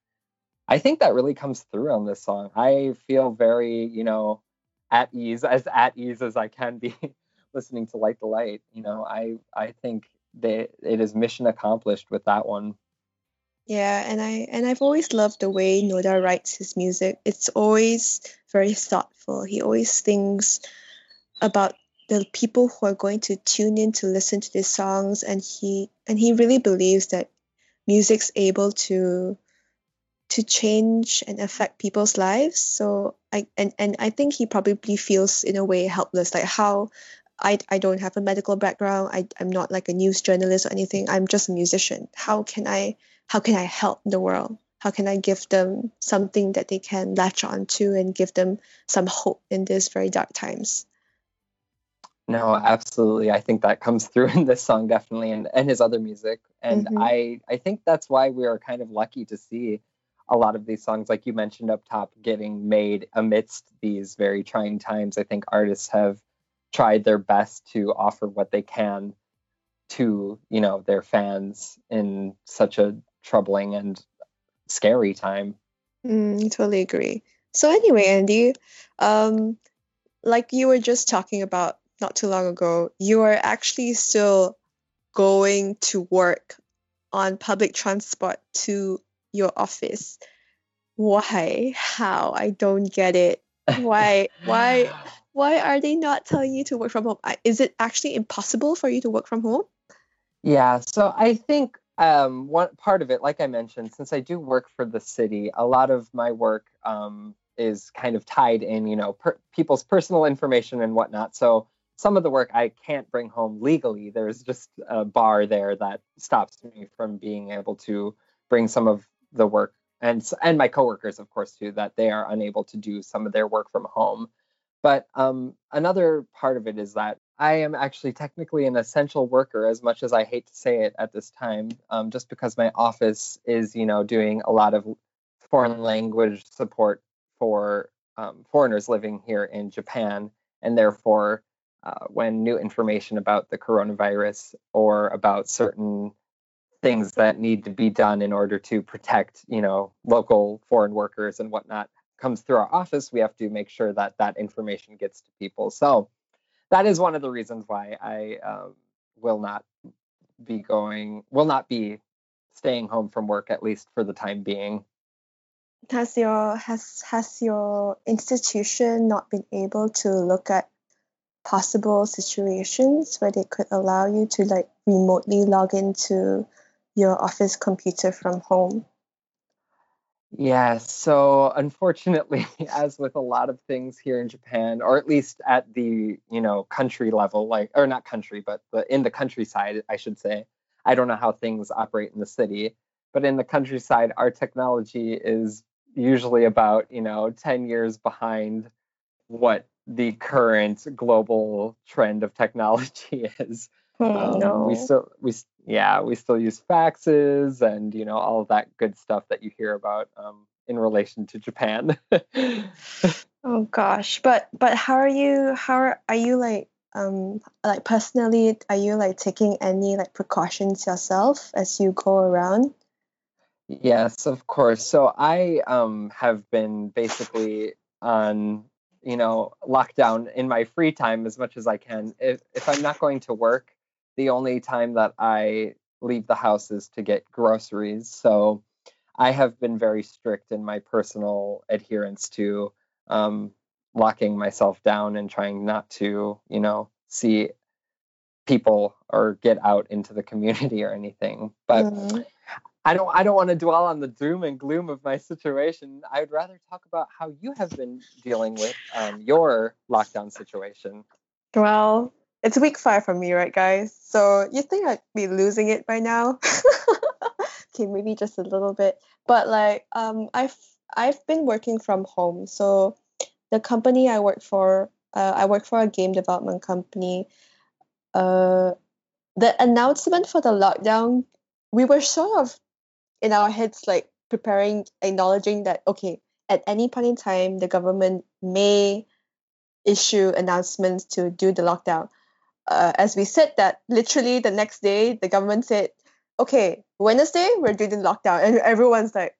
I think that really comes through on this song. I feel very, you know, at ease, as at ease as I can be listening to Light the Light. You know, I, I think that it is mission accomplished with that one. Yeah, and I and I've always loved the way Noda writes his music. It's always very thoughtful. He always thinks about the people who are going to tune in to listen to these songs, and he and he really believes that music's able to to change and affect people's lives. So I and, and I think he probably feels in a way helpless, like how I, I don't have a medical background. I, I'm not like a news journalist or anything. I'm just a musician. How can I how can I help the world? How can I give them something that they can latch on to and give them some hope in these very dark times? No, absolutely. I think that comes through in this song, definitely, and, and his other music. And Mhm. I, I think that's why we are kind of lucky to see a lot of these songs, like you mentioned up top, getting made amidst these very trying times. I think artists have tried their best to offer what they can to, you know, their fans in such a troubling and scary time. Mm, totally agree. So anyway, Andy, um, like you were just talking about not too long ago, you are actually still going to work on public transport to your office. Why? How? I don't get it. Why? Why? Why are they not telling you to work from home? I- Is it actually impossible for you to work from home? Yeah, so I think Um, one part of it, like I mentioned, since I do work for the city, a lot of my work um, is kind of tied in, you know, per- people's personal information and whatnot. So some of the work I can't bring home legally. There's just a bar there that stops me from being able to bring some of the work, and s- and my coworkers, of course, too, that they are unable to do some of their work from home. But um, another part of it is that I am actually technically an essential worker, as much as I hate to say it at this time, um, just because my office is, you know, doing a lot of foreign language support for um, foreigners living here in Japan. And therefore, uh, when new information about the coronavirus or about certain things that need to be done in order to protect, you know, local foreign workers and whatnot comes through our office, we have to make sure that that information gets to people. So that is one of the reasons why I um, will not be going, will not be staying home from work, at least for the time being. Has your has has your institution not been able to look at possible situations where they could allow you to like remotely log into your office computer from home? Yeah, so unfortunately, as with a lot of things here in Japan, or at least at the, you know, country level, like, or not country, but the, in the countryside, I should say. I don't know how things operate in the city, but in the countryside, our technology is usually about, you know, ten years behind what the current global trend of technology is. Hmm, Um, we no. still we s- yeah, we still use faxes and, you know, all of that good stuff that you hear about um, in relation to Japan. Oh gosh. But but how are you how are, are you like um like personally are you like taking any like precautions yourself as you go around? Yes, of course. So I um have been basically on, you know, lockdown in my free time as much as I can. If if I'm not going to work, the only time that I leave the house is to get groceries. So I have been very strict in my personal adherence to um locking myself down and trying not to, you know, see people or get out into the community or anything. But Mm. I don't I don't want to dwell on the doom and gloom of my situation. I would rather talk about how you have been dealing with um, your lockdown situation. Well, it's week five for me, right, guys? So you think I'd be losing it by now? Okay, maybe just a little bit. But like, um, I've I've been working from home. So the company I work for, uh, I work for a game development company. Uh, the announcement for the lockdown, we were sort of in our heads like preparing, acknowledging that okay, at any point in time, the government may issue announcements to do the lockdown. Uh, as we said that, literally the next day, the government said, okay, Wednesday, we're doing the lockdown. And everyone's like,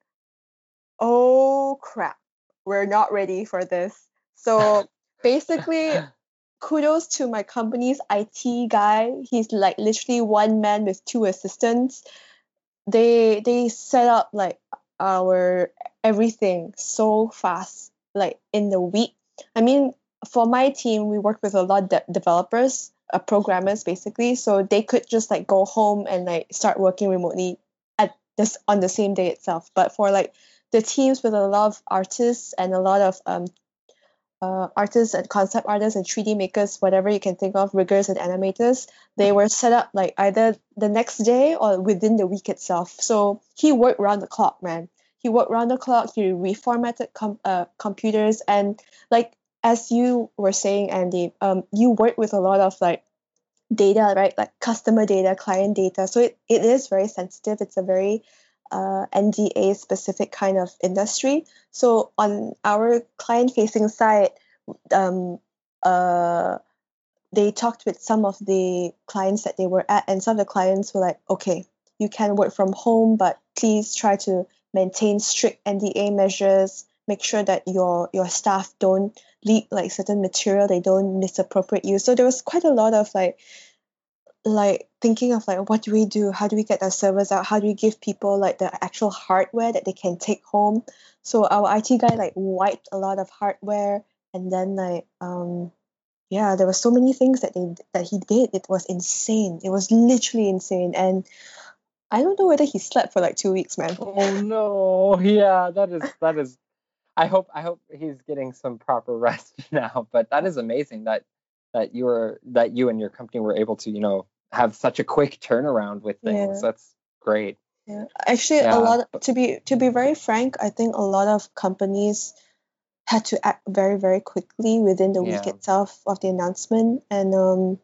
oh crap, we're not ready for this. So basically, kudos to my company's I T guy. He's like literally one man with two assistants. They they set up like our everything so fast, like in the week. I mean, for my team, we work with a lot of de- developers, uh, programmers basically, so they could just like go home and like start working remotely at this on the same day itself. But for like the teams with a lot of artists and a lot of um uh, artists and concept artists and three D makers, whatever you can think of, riggers and animators, they were set up like either the next day or within the week itself. So he worked round the clock, man. He worked round the clock. He reformatted com- uh, computers, and like as you were saying, Andy, um, you work with a lot of like data, right? Like customer data, client data. So it, it is very sensitive. It's a very uh, N D A specific kind of industry. So on our client facing side, um, uh, they talked with some of the clients that they were at, and some of the clients were like, okay, you can work from home, but please try to maintain strict N D A measures. Make sure that your your staff don't leak like certain material, they don't misappropriate you. So there was quite a lot of like like thinking of like what do we do, how do we get our servers out, how do we give people like the actual hardware that they can take home. So our I T guy like wiped a lot of hardware, and then like um yeah, there were so many things that they that he did. It was insane. It was literally insane. And I don't know whether he slept for like two weeks, man. Oh no. Yeah, that is that is I hope I hope he's getting some proper rest now. But that is amazing that that you were that you and your company were able to, you know, have such a quick turnaround with things. Yeah. That's great. Yeah. Actually, Yeah, a lot but- to be to be very frank, I think a lot of companies had to act very very quickly within the week Yeah. itself of the announcement, and um,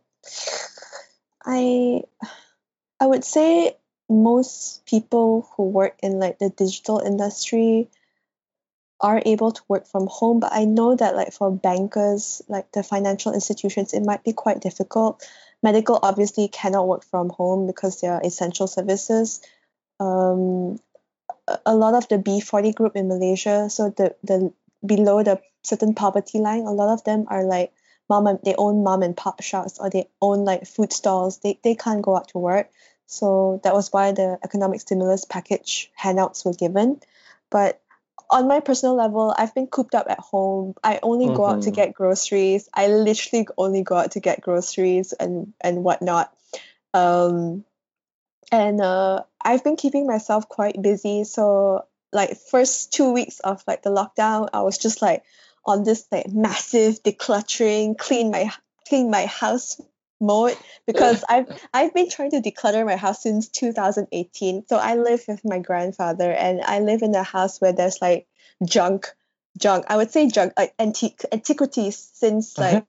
I I would say most people who work in like the digital industry are able to work from home, but I know that like for bankers, like the financial institutions, it might be quite difficult. Medical obviously cannot work from home because they are essential services. Um, a a lot of the B forty group in Malaysia, so the the below the certain poverty line, a lot of them are like mom and they own mom and pop shops or they own like food stalls. They they can't go out to work. So that was why the economic stimulus package handouts were given. But on my personal level, I've been cooped up at home. I only go out to Mhm. get groceries. I literally only go out to get groceries and and whatnot. Um, and uh, I've been keeping myself quite busy. So like first two weeks of like the lockdown, I was just like on this like massive decluttering, clean my clean my house mode because I've I've been trying to declutter my house since two thousand eighteen. So I live with my grandfather and I live in a house where there's like junk junk. I would say junk like antique antiquities since like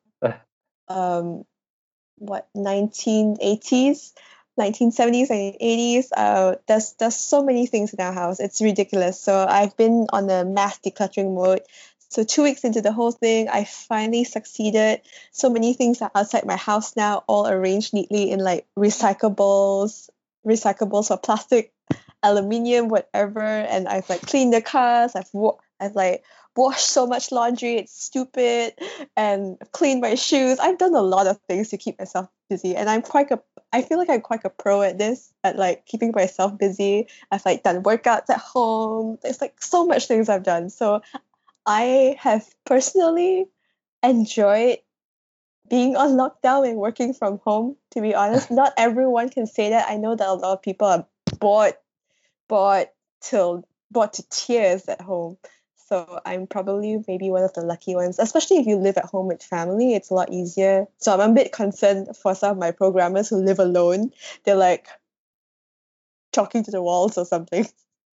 um what nineteen eighties, nineteen seventies and eighties. Uh there's there's so many things in our house, it's ridiculous. So I've been on a mass decluttering mode. So two weeks into the whole thing, I finally succeeded. So many things are outside my house now, all arranged neatly in like recyclables recyclables for plastic, aluminium, whatever. And I've like cleaned the cars, i've wa- I've like washed so much laundry, it's stupid, and cleaned my shoes. I've done a lot of things to keep myself busy, and I'm quite a I feel like I'm quite a pro at this, at like keeping myself busy. I've like done workouts at home. There's like so much things I've done. So I have personally enjoyed being on lockdown and working from home, to be honest. Not everyone can say that. I know that a lot of people are bored, bored till bored to tears at home. So I'm probably maybe one of the lucky ones, especially if you live at home with family, it's a lot easier. So I'm a bit concerned for some of my programmers who live alone. They're like talking to the walls or something.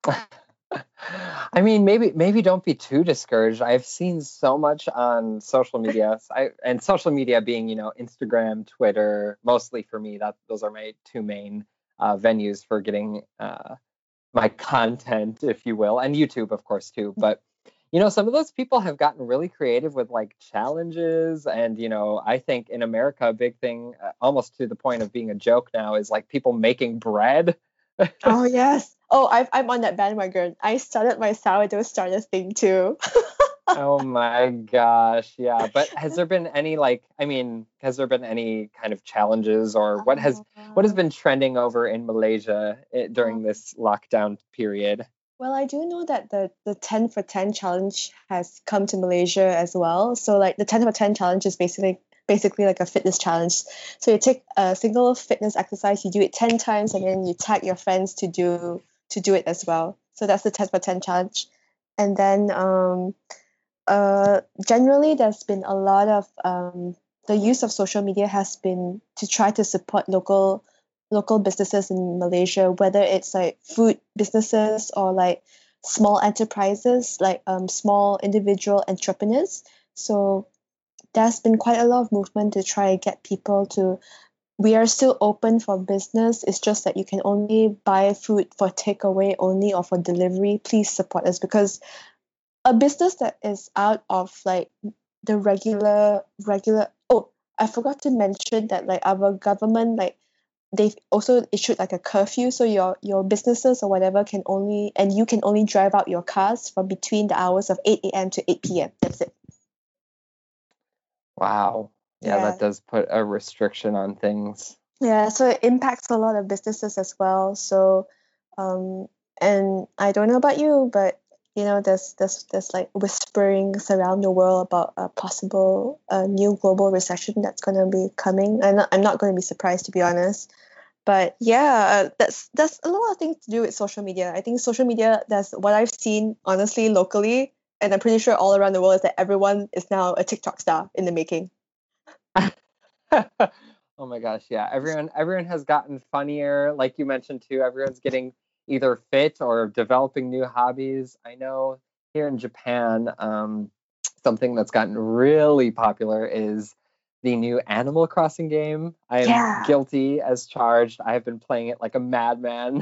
I mean, maybe maybe don't be too discouraged. I've seen so much on social media. I and social media being, you know, Instagram, Twitter, mostly for me. That those are my two main uh, venues for getting uh, my content, if you will, and YouTube, of course, too. But you know, some of those people have gotten really creative with like challenges, and you know, I think in America, a big thing, uh, almost to the point of being a joke now, is like people making bread. Oh yes. Oh, I've, I'm on that bandwagon. I started my sourdough starter thing too. Oh my gosh, yeah. But has there been any like, I mean, has there been any kind of challenges or what has what has been trending over in Malaysia eh, during this lockdown period? Well, I do know that the the ten for ten challenge has come to Malaysia as well. So like the ten for ten challenge is basically basically like a fitness challenge. So you take a single fitness exercise, you do it ten times, and then you tag your friends to do to do it as well. So that's the ten for ten challenge. And then um uh generally there's been a lot of um the use of social media has been to try to support local local businesses in Malaysia, whether it's like food businesses or like small enterprises, like um, small individual entrepreneurs. So there's been quite a lot of movement to try and get people to. We are still open for business. It's just that you can only buy food for takeaway only or for delivery. Please support us because a business that is out of like the regular regular. Oh, I forgot to mention that like our government like they've also issued like a curfew, so your your businesses or whatever can only and you can only drive out your cars from between the hours of eight a.m. to eight p.m. That's it. Wow. Yeah, Yeah. that does put a restriction on things. Yeah, so it impacts a lot of businesses as well. So um and I don't know about you, but you know there's there's there's like whisperings around the world about a possible uh, new global recession that's going to be coming. I'm not, I'm not going to be surprised, to be honest. But yeah, uh, that's that's a lot of things to do with social media. I think social media, that's what I've seen honestly locally, and I'm pretty sure all around the world, is that everyone is now a TikTok star in the making. Oh my gosh, yeah. Everyone everyone has gotten funnier, like you mentioned too. Everyone's getting either fit or developing new hobbies. I know here in Japan, um, something that's gotten really popular is the new Animal Crossing game. I am Yeah. guilty as charged. I have been playing it like a madman.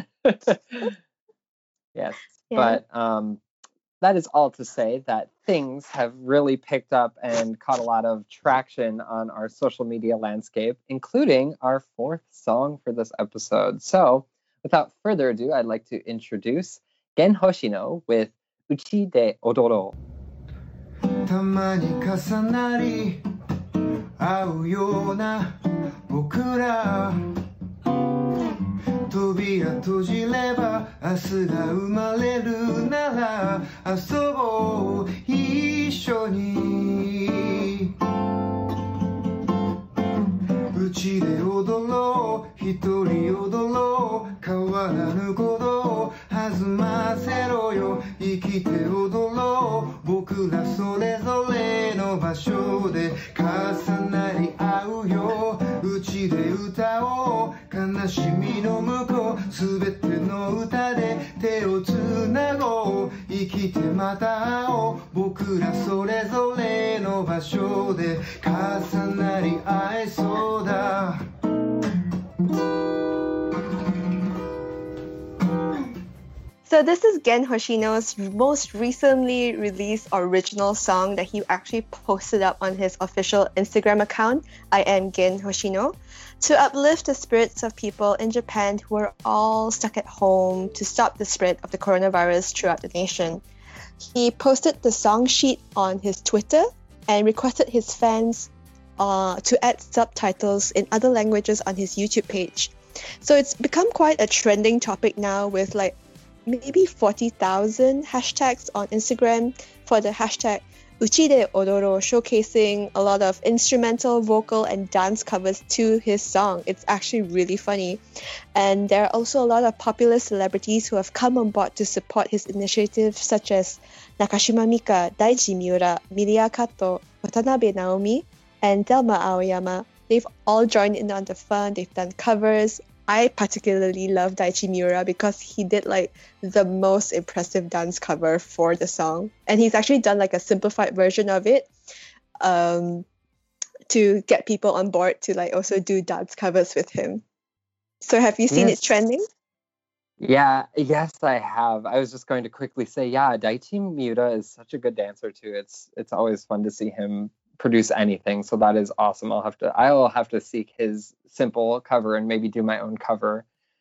Yes, Yeah. but um, that is all to say that things have really picked up and caught a lot of traction on our social media landscape, including our fourth song for this episode. So, without further ado, I'd like to introduce Gen Hoshino with Uchi de Odoro. たまに重なり合うような僕ら扉閉じれば明日が生まれるなら遊ぼう一緒にうちで踊ろう一人踊ろう変わらぬことを弾ませろよ生きて踊ろう僕らそれぞれの場所で重なり合うようちで歌おう悲しみの向こうすべての歌で手をつなごう生きてまた会おう僕らそれぞれの場所で重なり合えそうだ So this is Gen Hoshino's most recently released original song that he actually posted up on his official Instagram account, I am Gen Hoshino, to uplift the spirits of people in Japan who are all stuck at home to stop the spread of the coronavirus throughout the nation. He posted the song sheet on his Twitter and requested his fans uh, to add subtitles in other languages on his YouTube page. So it's become quite a trending topic now with like maybe forty thousand hashtags on Instagram for the hashtag Uchi de Odoro, showcasing a lot of instrumental, vocal, and dance covers to his song. It's actually really funny. And there are also a lot of popular celebrities who have come on board to support his initiative, such as Nakashima Mika, Daichi Miura, Miria Kato, Watanabe Naomi, and Thelma Aoyama. They've all joined in on the fun. They've done covers. I particularly love Daichi Miura because he did like the most impressive dance cover for the song. And he's actually done like a simplified version of it um, to get people on board to like also do dance covers with him. So have you seen Yes. it trending? Yeah, yes, I have. I was just going to quickly say, yeah, Daichi Miura is such a good dancer too. It's it's always fun to see him produce anything. So that is awesome. I'll have to I'll have to seek his simple cover and maybe do my own cover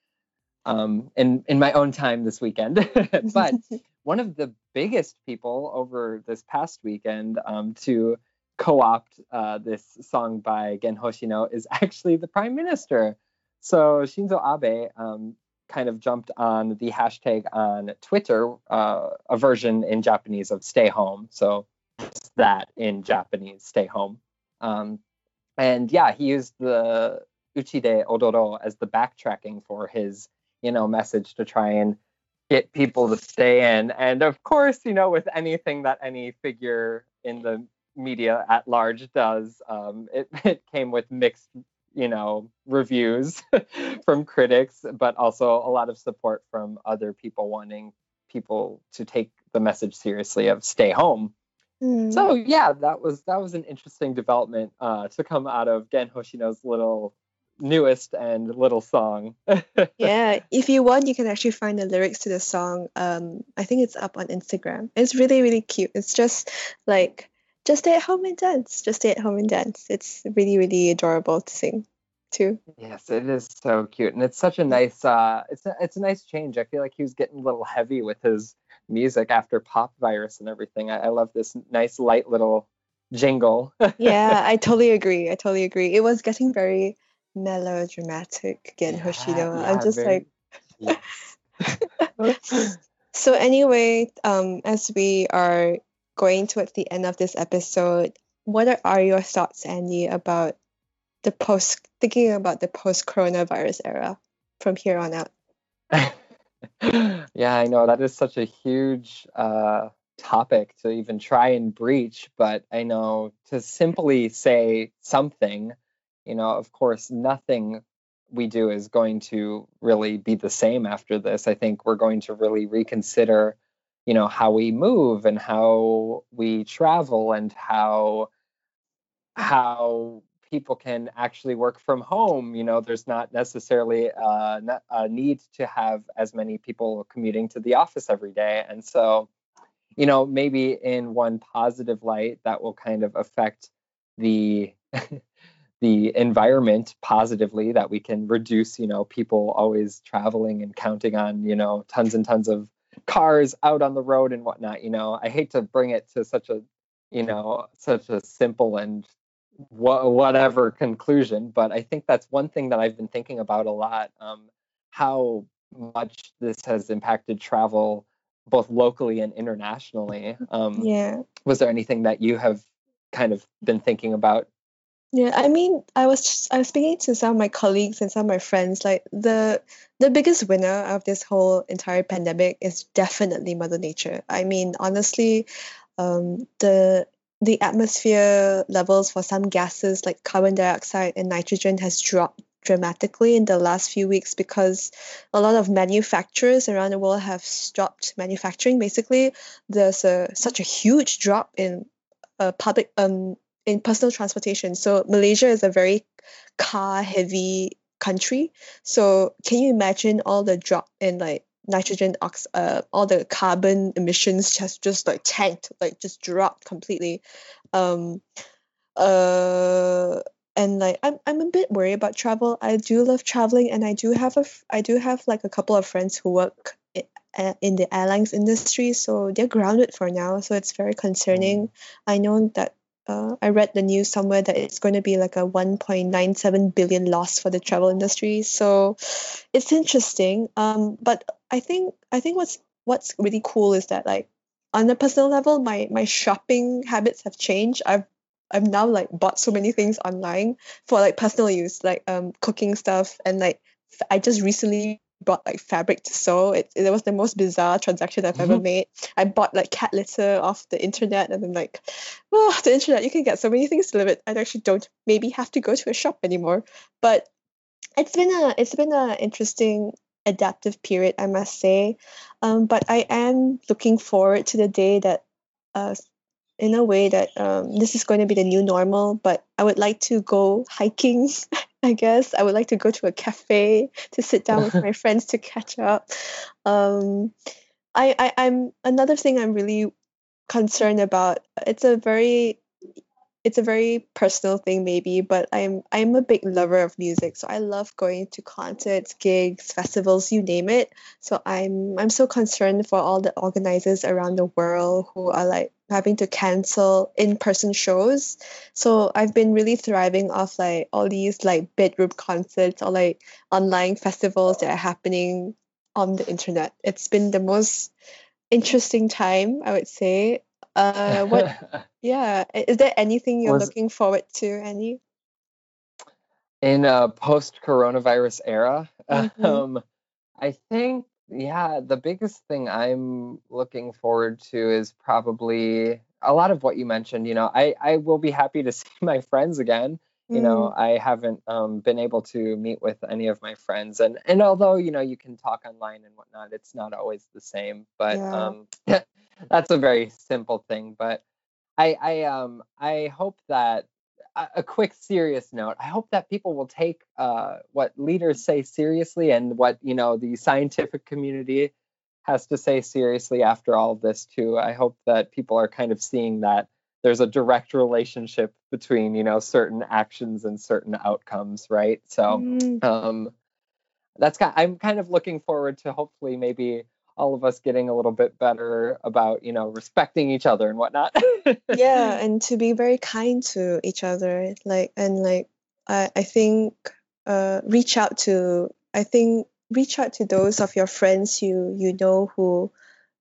um in in my own time this weekend. But one of the biggest people over this past weekend um to co-opt uh this song by Gen Hoshino is actually the Prime Minister. So Shinzo Abe um kind of jumped on the hashtag on Twitter, uh, a version in Japanese of stay home. So just that in Japanese, stay home. Um, and yeah, he used the Uchi de Odoro as the backtracking for his, you know, message to try and get people to stay in. And of course, you know, with anything that any figure in the media at large does, um, it, it came with mixed, you know, reviews from critics, but also a lot of support from other people wanting people to take the message seriously of stay home. Mm. So yeah, that was that was an interesting development uh, to come out of Gen Hoshino's little newest and little song. Yeah, if you want, you can actually find the lyrics to the song. Um, I think it's up on Instagram. It's really, really cute. It's just like, just stay at home and dance. Just stay at home and dance. It's really, really adorable to sing too. Yes, it is so cute, and it's such a nice. Uh, it's a, it's a nice change. I feel like he was getting a little heavy with his music after Pop Virus and everything. I, I love this nice, light little jingle. Yeah, I totally agree. I totally agree. It was getting very melodramatic again, Yeah, Hoshino. yeah, I'm just very- like, Yes. so anyway, um, as we are going towards the end of this episode, what are, are your thoughts, Andy, about the post, thinking about the post-coronavirus era? from here on out. Yeah, I know that is such a huge uh, topic to even try and breach, but I know to simply say something, you know, of course, nothing we do is going to really be the same after this. I think we're going to really reconsider, you know, how we move and how we travel and how how people can actually work from home. You know, there's not necessarily uh, ne- a need to have as many people commuting to the office every day. And so, you know, maybe in one positive light, that will kind of affect the the environment positively, that we can reduce, you know, people always traveling and counting on, you know, tons and tons of cars out on the road and whatnot. You know, I hate to bring it to such a, you know, such a simple and wha- whatever conclusion, but I think that's one thing that I've been thinking about a lot. Um, how much this has impacted travel both locally and internationally. Um, Yeah. was there anything that you have kind of been thinking about? Yeah, I mean, I was just, I was speaking to some of my colleagues and some of my friends. Like the the biggest winner of this whole entire pandemic is definitely Mother Nature. I mean, honestly, um, the the atmosphere levels for some gases like carbon dioxide and nitrogen has dropped dramatically in the last few weeks because a lot of manufacturers around the world have stopped manufacturing. Basically, there's a such a huge drop in uh, public um in personal transportation. So Malaysia is a very car heavy country. So can you imagine all the drop in like nitrogen ox uh all the carbon emissions just just like tanked, like just dropped completely. Um uh and like I'm I'm a bit worried about travel. I do love traveling, and I do have a f- I do have like a couple of friends who work i- uh, in the airlines industry, so they're grounded for now. So it's very concerning. I know that uh, I read the news somewhere that it's going to be like a one point nine seven billion loss for the travel industry. So it's interesting. Um, but I think I think what's what's really cool is that like on a personal level, my my shopping habits have changed. I've I've now like bought so many things online for like personal use, like um cooking stuff, and like f- I just recently bought like fabric to sew. It it was the most bizarre transaction I've ever made. I bought like cat litter off the internet, and then like, oh, the internet, you can get so many things delivered. I actually don't maybe have to go to a shop anymore. But it's been a it's been a interesting adaptive period, I must say. Um, but I am looking forward to the day that, uh, in a way that um, this is going to be the new normal. But I would like to go hiking. I guess I would like to go to a cafe to sit down with my friends to catch up. Um, I, I I'm another thing I'm really concerned about. It's a very it's a very personal thing maybe, but I'm I'm a big lover of music. So I love going to concerts, gigs, festivals, you name it. So I'm I'm so concerned for all the organizers around the world who are like having to cancel in-person shows. So I've been really thriving off like all these like bedroom concerts or like online festivals that are happening on the internet. It's been the most interesting time, I would say. Uh, what yeah. i- Is there anything you're Was looking forward to, Annie? in a post-coronavirus era, Mm-hmm. um, I think, yeah, the biggest thing I'm looking forward to is probably a lot of what you mentioned. You know, I, I will be happy to see my friends again. You know, Mm, I haven't um, been able to meet with any of my friends, and and although you know you can talk online and whatnot, it's not always the same. But yeah. um, that's a very simple thing. But I I um I hope that a, a quick serious note. I hope that people will take uh what leaders say seriously and what you know the scientific community has to say seriously after all of this too. I hope that people are kind of seeing that there's a direct relationship between you know certain actions and certain outcomes, right? So Mm, um that's kind I'm kind of looking forward to hopefully maybe all of us getting a little bit better about you know respecting each other and whatnot. yeah, and to be very kind to each other, like and like I I think uh reach out to I think reach out to those of your friends you you know who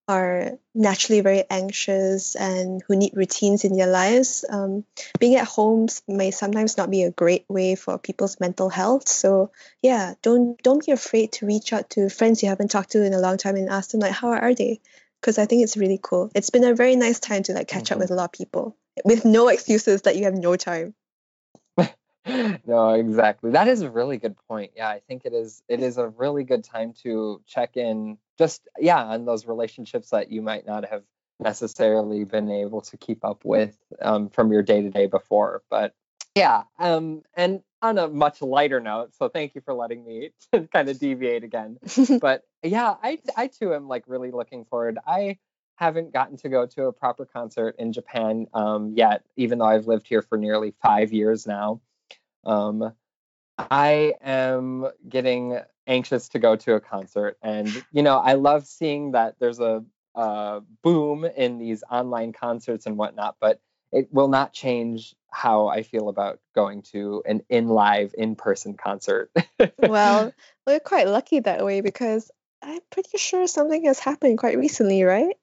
are naturally very anxious and who need routines in their lives, um, being at home may sometimes not be a great way for people's mental health. So yeah, don't don't be afraid to reach out to friends you haven't talked to in a long time and ask them like, how are they? Because I think it's really cool. It's been a very nice time to like catch up Mhm. with a lot of people with no excuses that you have no time. No, exactly. That is a really good point. Yeah, I think it is it is a really good time to check in just yeah, on those relationships that you might not have necessarily been able to keep up with um, from your day to day before. But yeah, um, and on a much lighter note, so thank you for letting me kind of deviate again. But yeah, I I too am like really looking forward. I haven't gotten to go to a proper concert in Japan um, yet, even though I've lived here for nearly five years now. Um, I am getting anxious to go to a concert, and you know, I love seeing that there's a, a boom in these online concerts and whatnot, but it will not change how I feel about going to an in live, in person concert. Well, we're quite lucky that way because I'm pretty sure something has happened quite recently, right?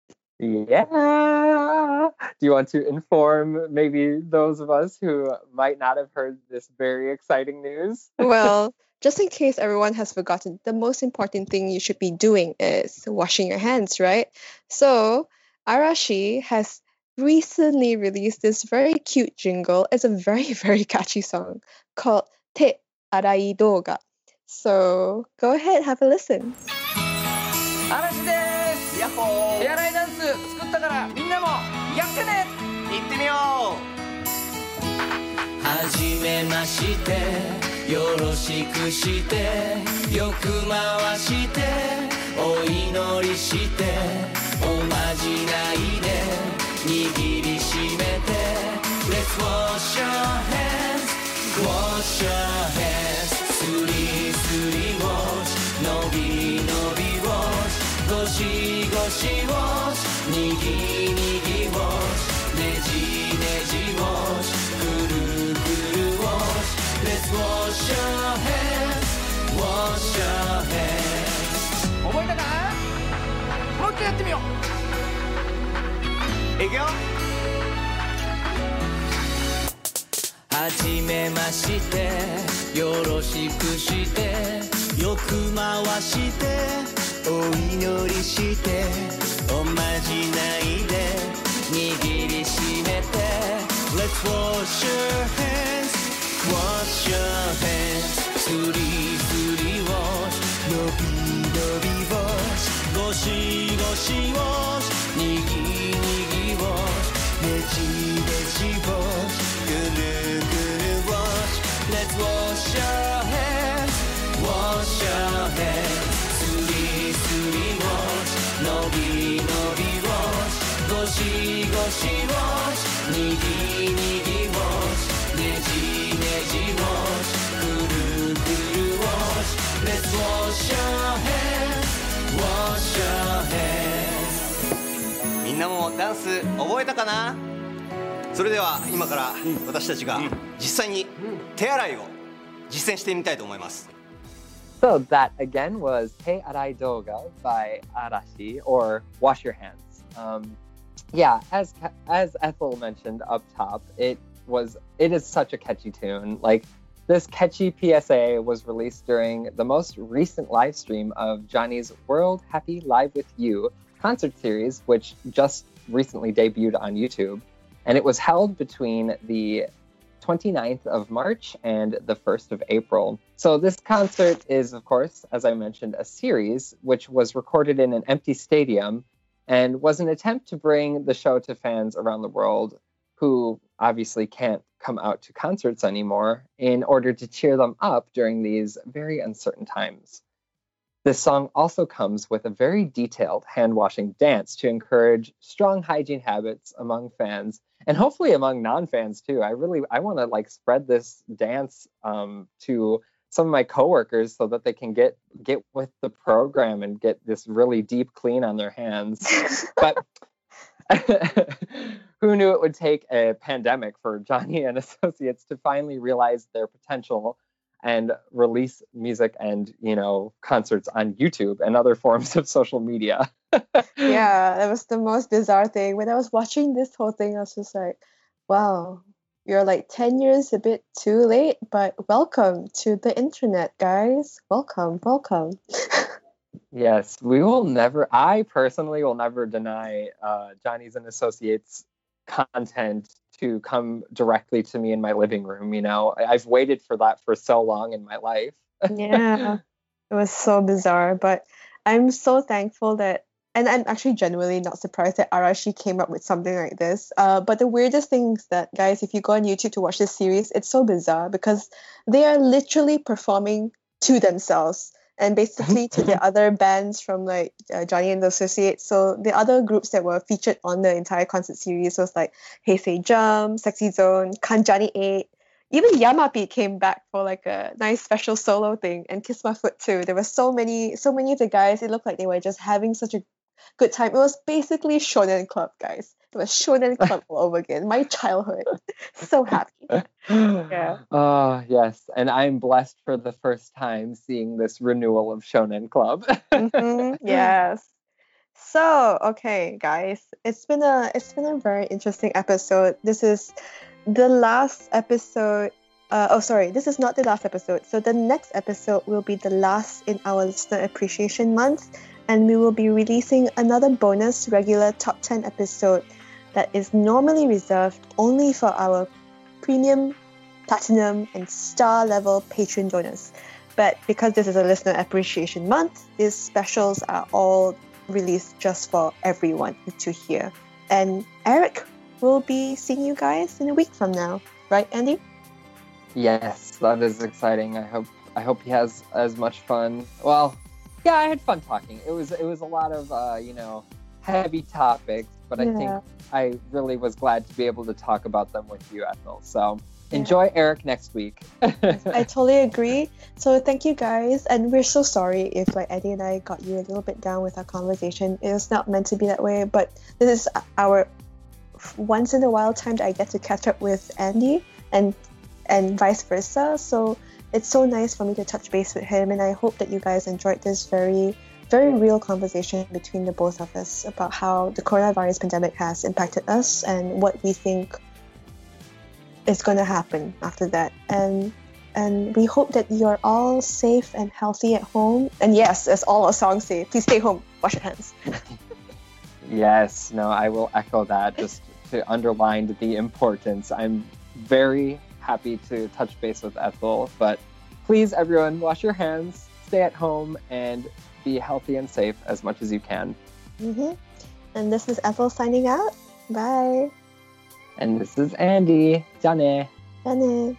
Yeah. Do you want to inform maybe those of us who might not have heard this very exciting news? Well, just in case everyone has forgotten, the most important thing you should be doing is washing your hands, right? So, Arashi has recently released this very cute jingle. It's a very, very catchy song called Te Arai Doga. So, go ahead, have a listen. 嵐ですヤッホ手洗いダンス作ったからみんなもやってねー行ってみよはじめましてよろしくしてよく回してお祈りしておまじないで握りしめて Let's wash your hands wash your hands スリスリ wash のびのび wash ゴシゴシ wash にぎにぎ wash ねじねじ wash くるくる wash Let's wash your hands wash your hands 覚えたかもう一回やってみようう。行くよ。 はじめましてよろしくしてよく回してお祈りしておまじないで握りしめて Let's wash your hands wash your hands スリスリ wash のびのび wash ゴシゴシ wash にぎにぎ wash ねじねじ wash ぐるぐる wash Let's wash your hands wash your hands スリスリ wash のびのび wash ゴシゴシ wash にぎにぎ wash ねじねじ wash ぐるぐる wash Let's wash your hands wash your hands みんなもダンス覚えたかな？それでは今から私たちが実際に手洗いを実践してみたいと思います。 So that again was Te Arai Doga by Arashi, or Wash Your Hands. Um, yeah, as as Ethel mentioned up top, it was it is such a catchy tune. Like this catchy P S A was released during the most recent live stream of Johnny's World Happy Live with You concert series, which just recently debuted on YouTube. And it was held between the twenty-ninth of March and the first of April. So this concert is, of course, as I mentioned, a series which was recorded in an empty stadium and was an attempt to bring the show to fans around the world who obviously can't come out to concerts anymore in order to cheer them up during these very uncertain times. This song also comes with a very detailed hand-washing dance to encourage strong hygiene habits among fans and hopefully among non-fans too. I really I want to like spread this dance um, to some of my coworkers so that they can get get with the program and get this really deep clean on their hands. But who knew it would take a pandemic for Johnny and Associates to finally realize their potential and release music and, you know, concerts on YouTube and other forms of social media. Yeah, that was the most bizarre thing. When I was watching this whole thing, I was just like, wow, you're like ten years a bit too late, but welcome to the internet, guys. Welcome, welcome. Yes, we will never, I personally will never deny uh, Johnny's and Associates content to come directly to me in my living room. You know, I- I've waited for that for so long in my life. Yeah, it was so bizarre, but I'm so thankful that, and I'm actually genuinely not surprised that Arashi came up with something like this. Uh, but the weirdest thing is that, guys, if you go on YouTube to watch this series, it's so bizarre because they are literally performing to themselves and basically to the other bands from like uh, Johnny and the Associates. So the other groups that were featured on the entire concert series was like Hey Say Jump, Sexy Zone, Kanjani eight. Even Yamapi came back for like a nice special solo thing, and Kiss My Foot too. There were so many, so many of the guys. It looked like they were just having such a good time. It was basically Shonen Club, guys. It was Shonen Club all over again. My childhood. So happy. Yeah. Oh, yes. And I'm blessed for the first time seeing this renewal of Shonen Club. Mhm, yes. So, okay, guys, it's been a it's been a very interesting episode. This is the last episode. Uh, oh, sorry, this is not the last episode. So the next episode will be the last in our Listener Appreciation Month, and we will be releasing another bonus regular top ten episode that is normally reserved only for our premium, platinum, and star level patron donors. But because this is a Listener Appreciation Month, these specials are all released just for everyone to hear. And Eric will be seeing you guys in a week from now, right, Andy? Yes, that is exciting. I hope I hope he has as much fun. Well, yeah, I had fun talking. It was it was a lot of uh, you know, heavy topics, but I Yeah. think I really was glad to be able to talk about them with you, Ethel. So enjoy Eric next week. I totally agree. So thank you guys, and we're so sorry if like Eddie and I got you a little bit down with our conversation. It was not meant to be that way, but this is our once in a while time that I get to catch up with Andy, and and vice versa. So it's so nice for me to touch base with him, and I hope that you guys enjoyed this very very real conversation between the both of us about how the coronavirus pandemic has impacted us and what we think is going to happen after that. And and we hope that you're all safe and healthy at home. And yes, as all our songs say, please stay home, wash your hands. Yes, no, I will echo that just to underline the importance. I'm very happy to touch base with Ethel, but please, everyone, wash your hands, stay at home, and be healthy and safe as much as you can. Mm-hmm. And this is Ethel signing out. Bye. And this is Andy. Jane. Bye.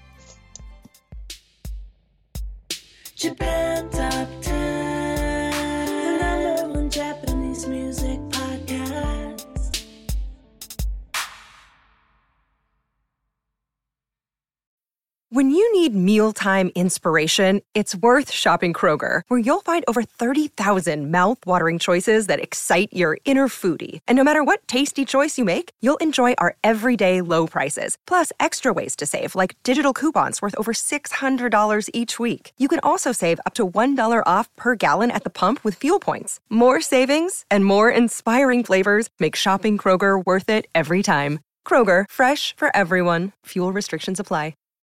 Japan Top ten, the number one Japanese music podcast. When you need mealtime inspiration, it's worth shopping Kroger, where you'll find over thirty thousand mouth-watering choices that excite your inner foodie. And no matter what tasty choice you make, you'll enjoy our everyday low prices, plus extra ways to save, like digital coupons worth over six hundred dollars each week. You can also save up to one dollar off per gallon at the pump with fuel points. More savings and more inspiring flavors make shopping Kroger worth it every time. Kroger, fresh for everyone. Fuel restrictions apply.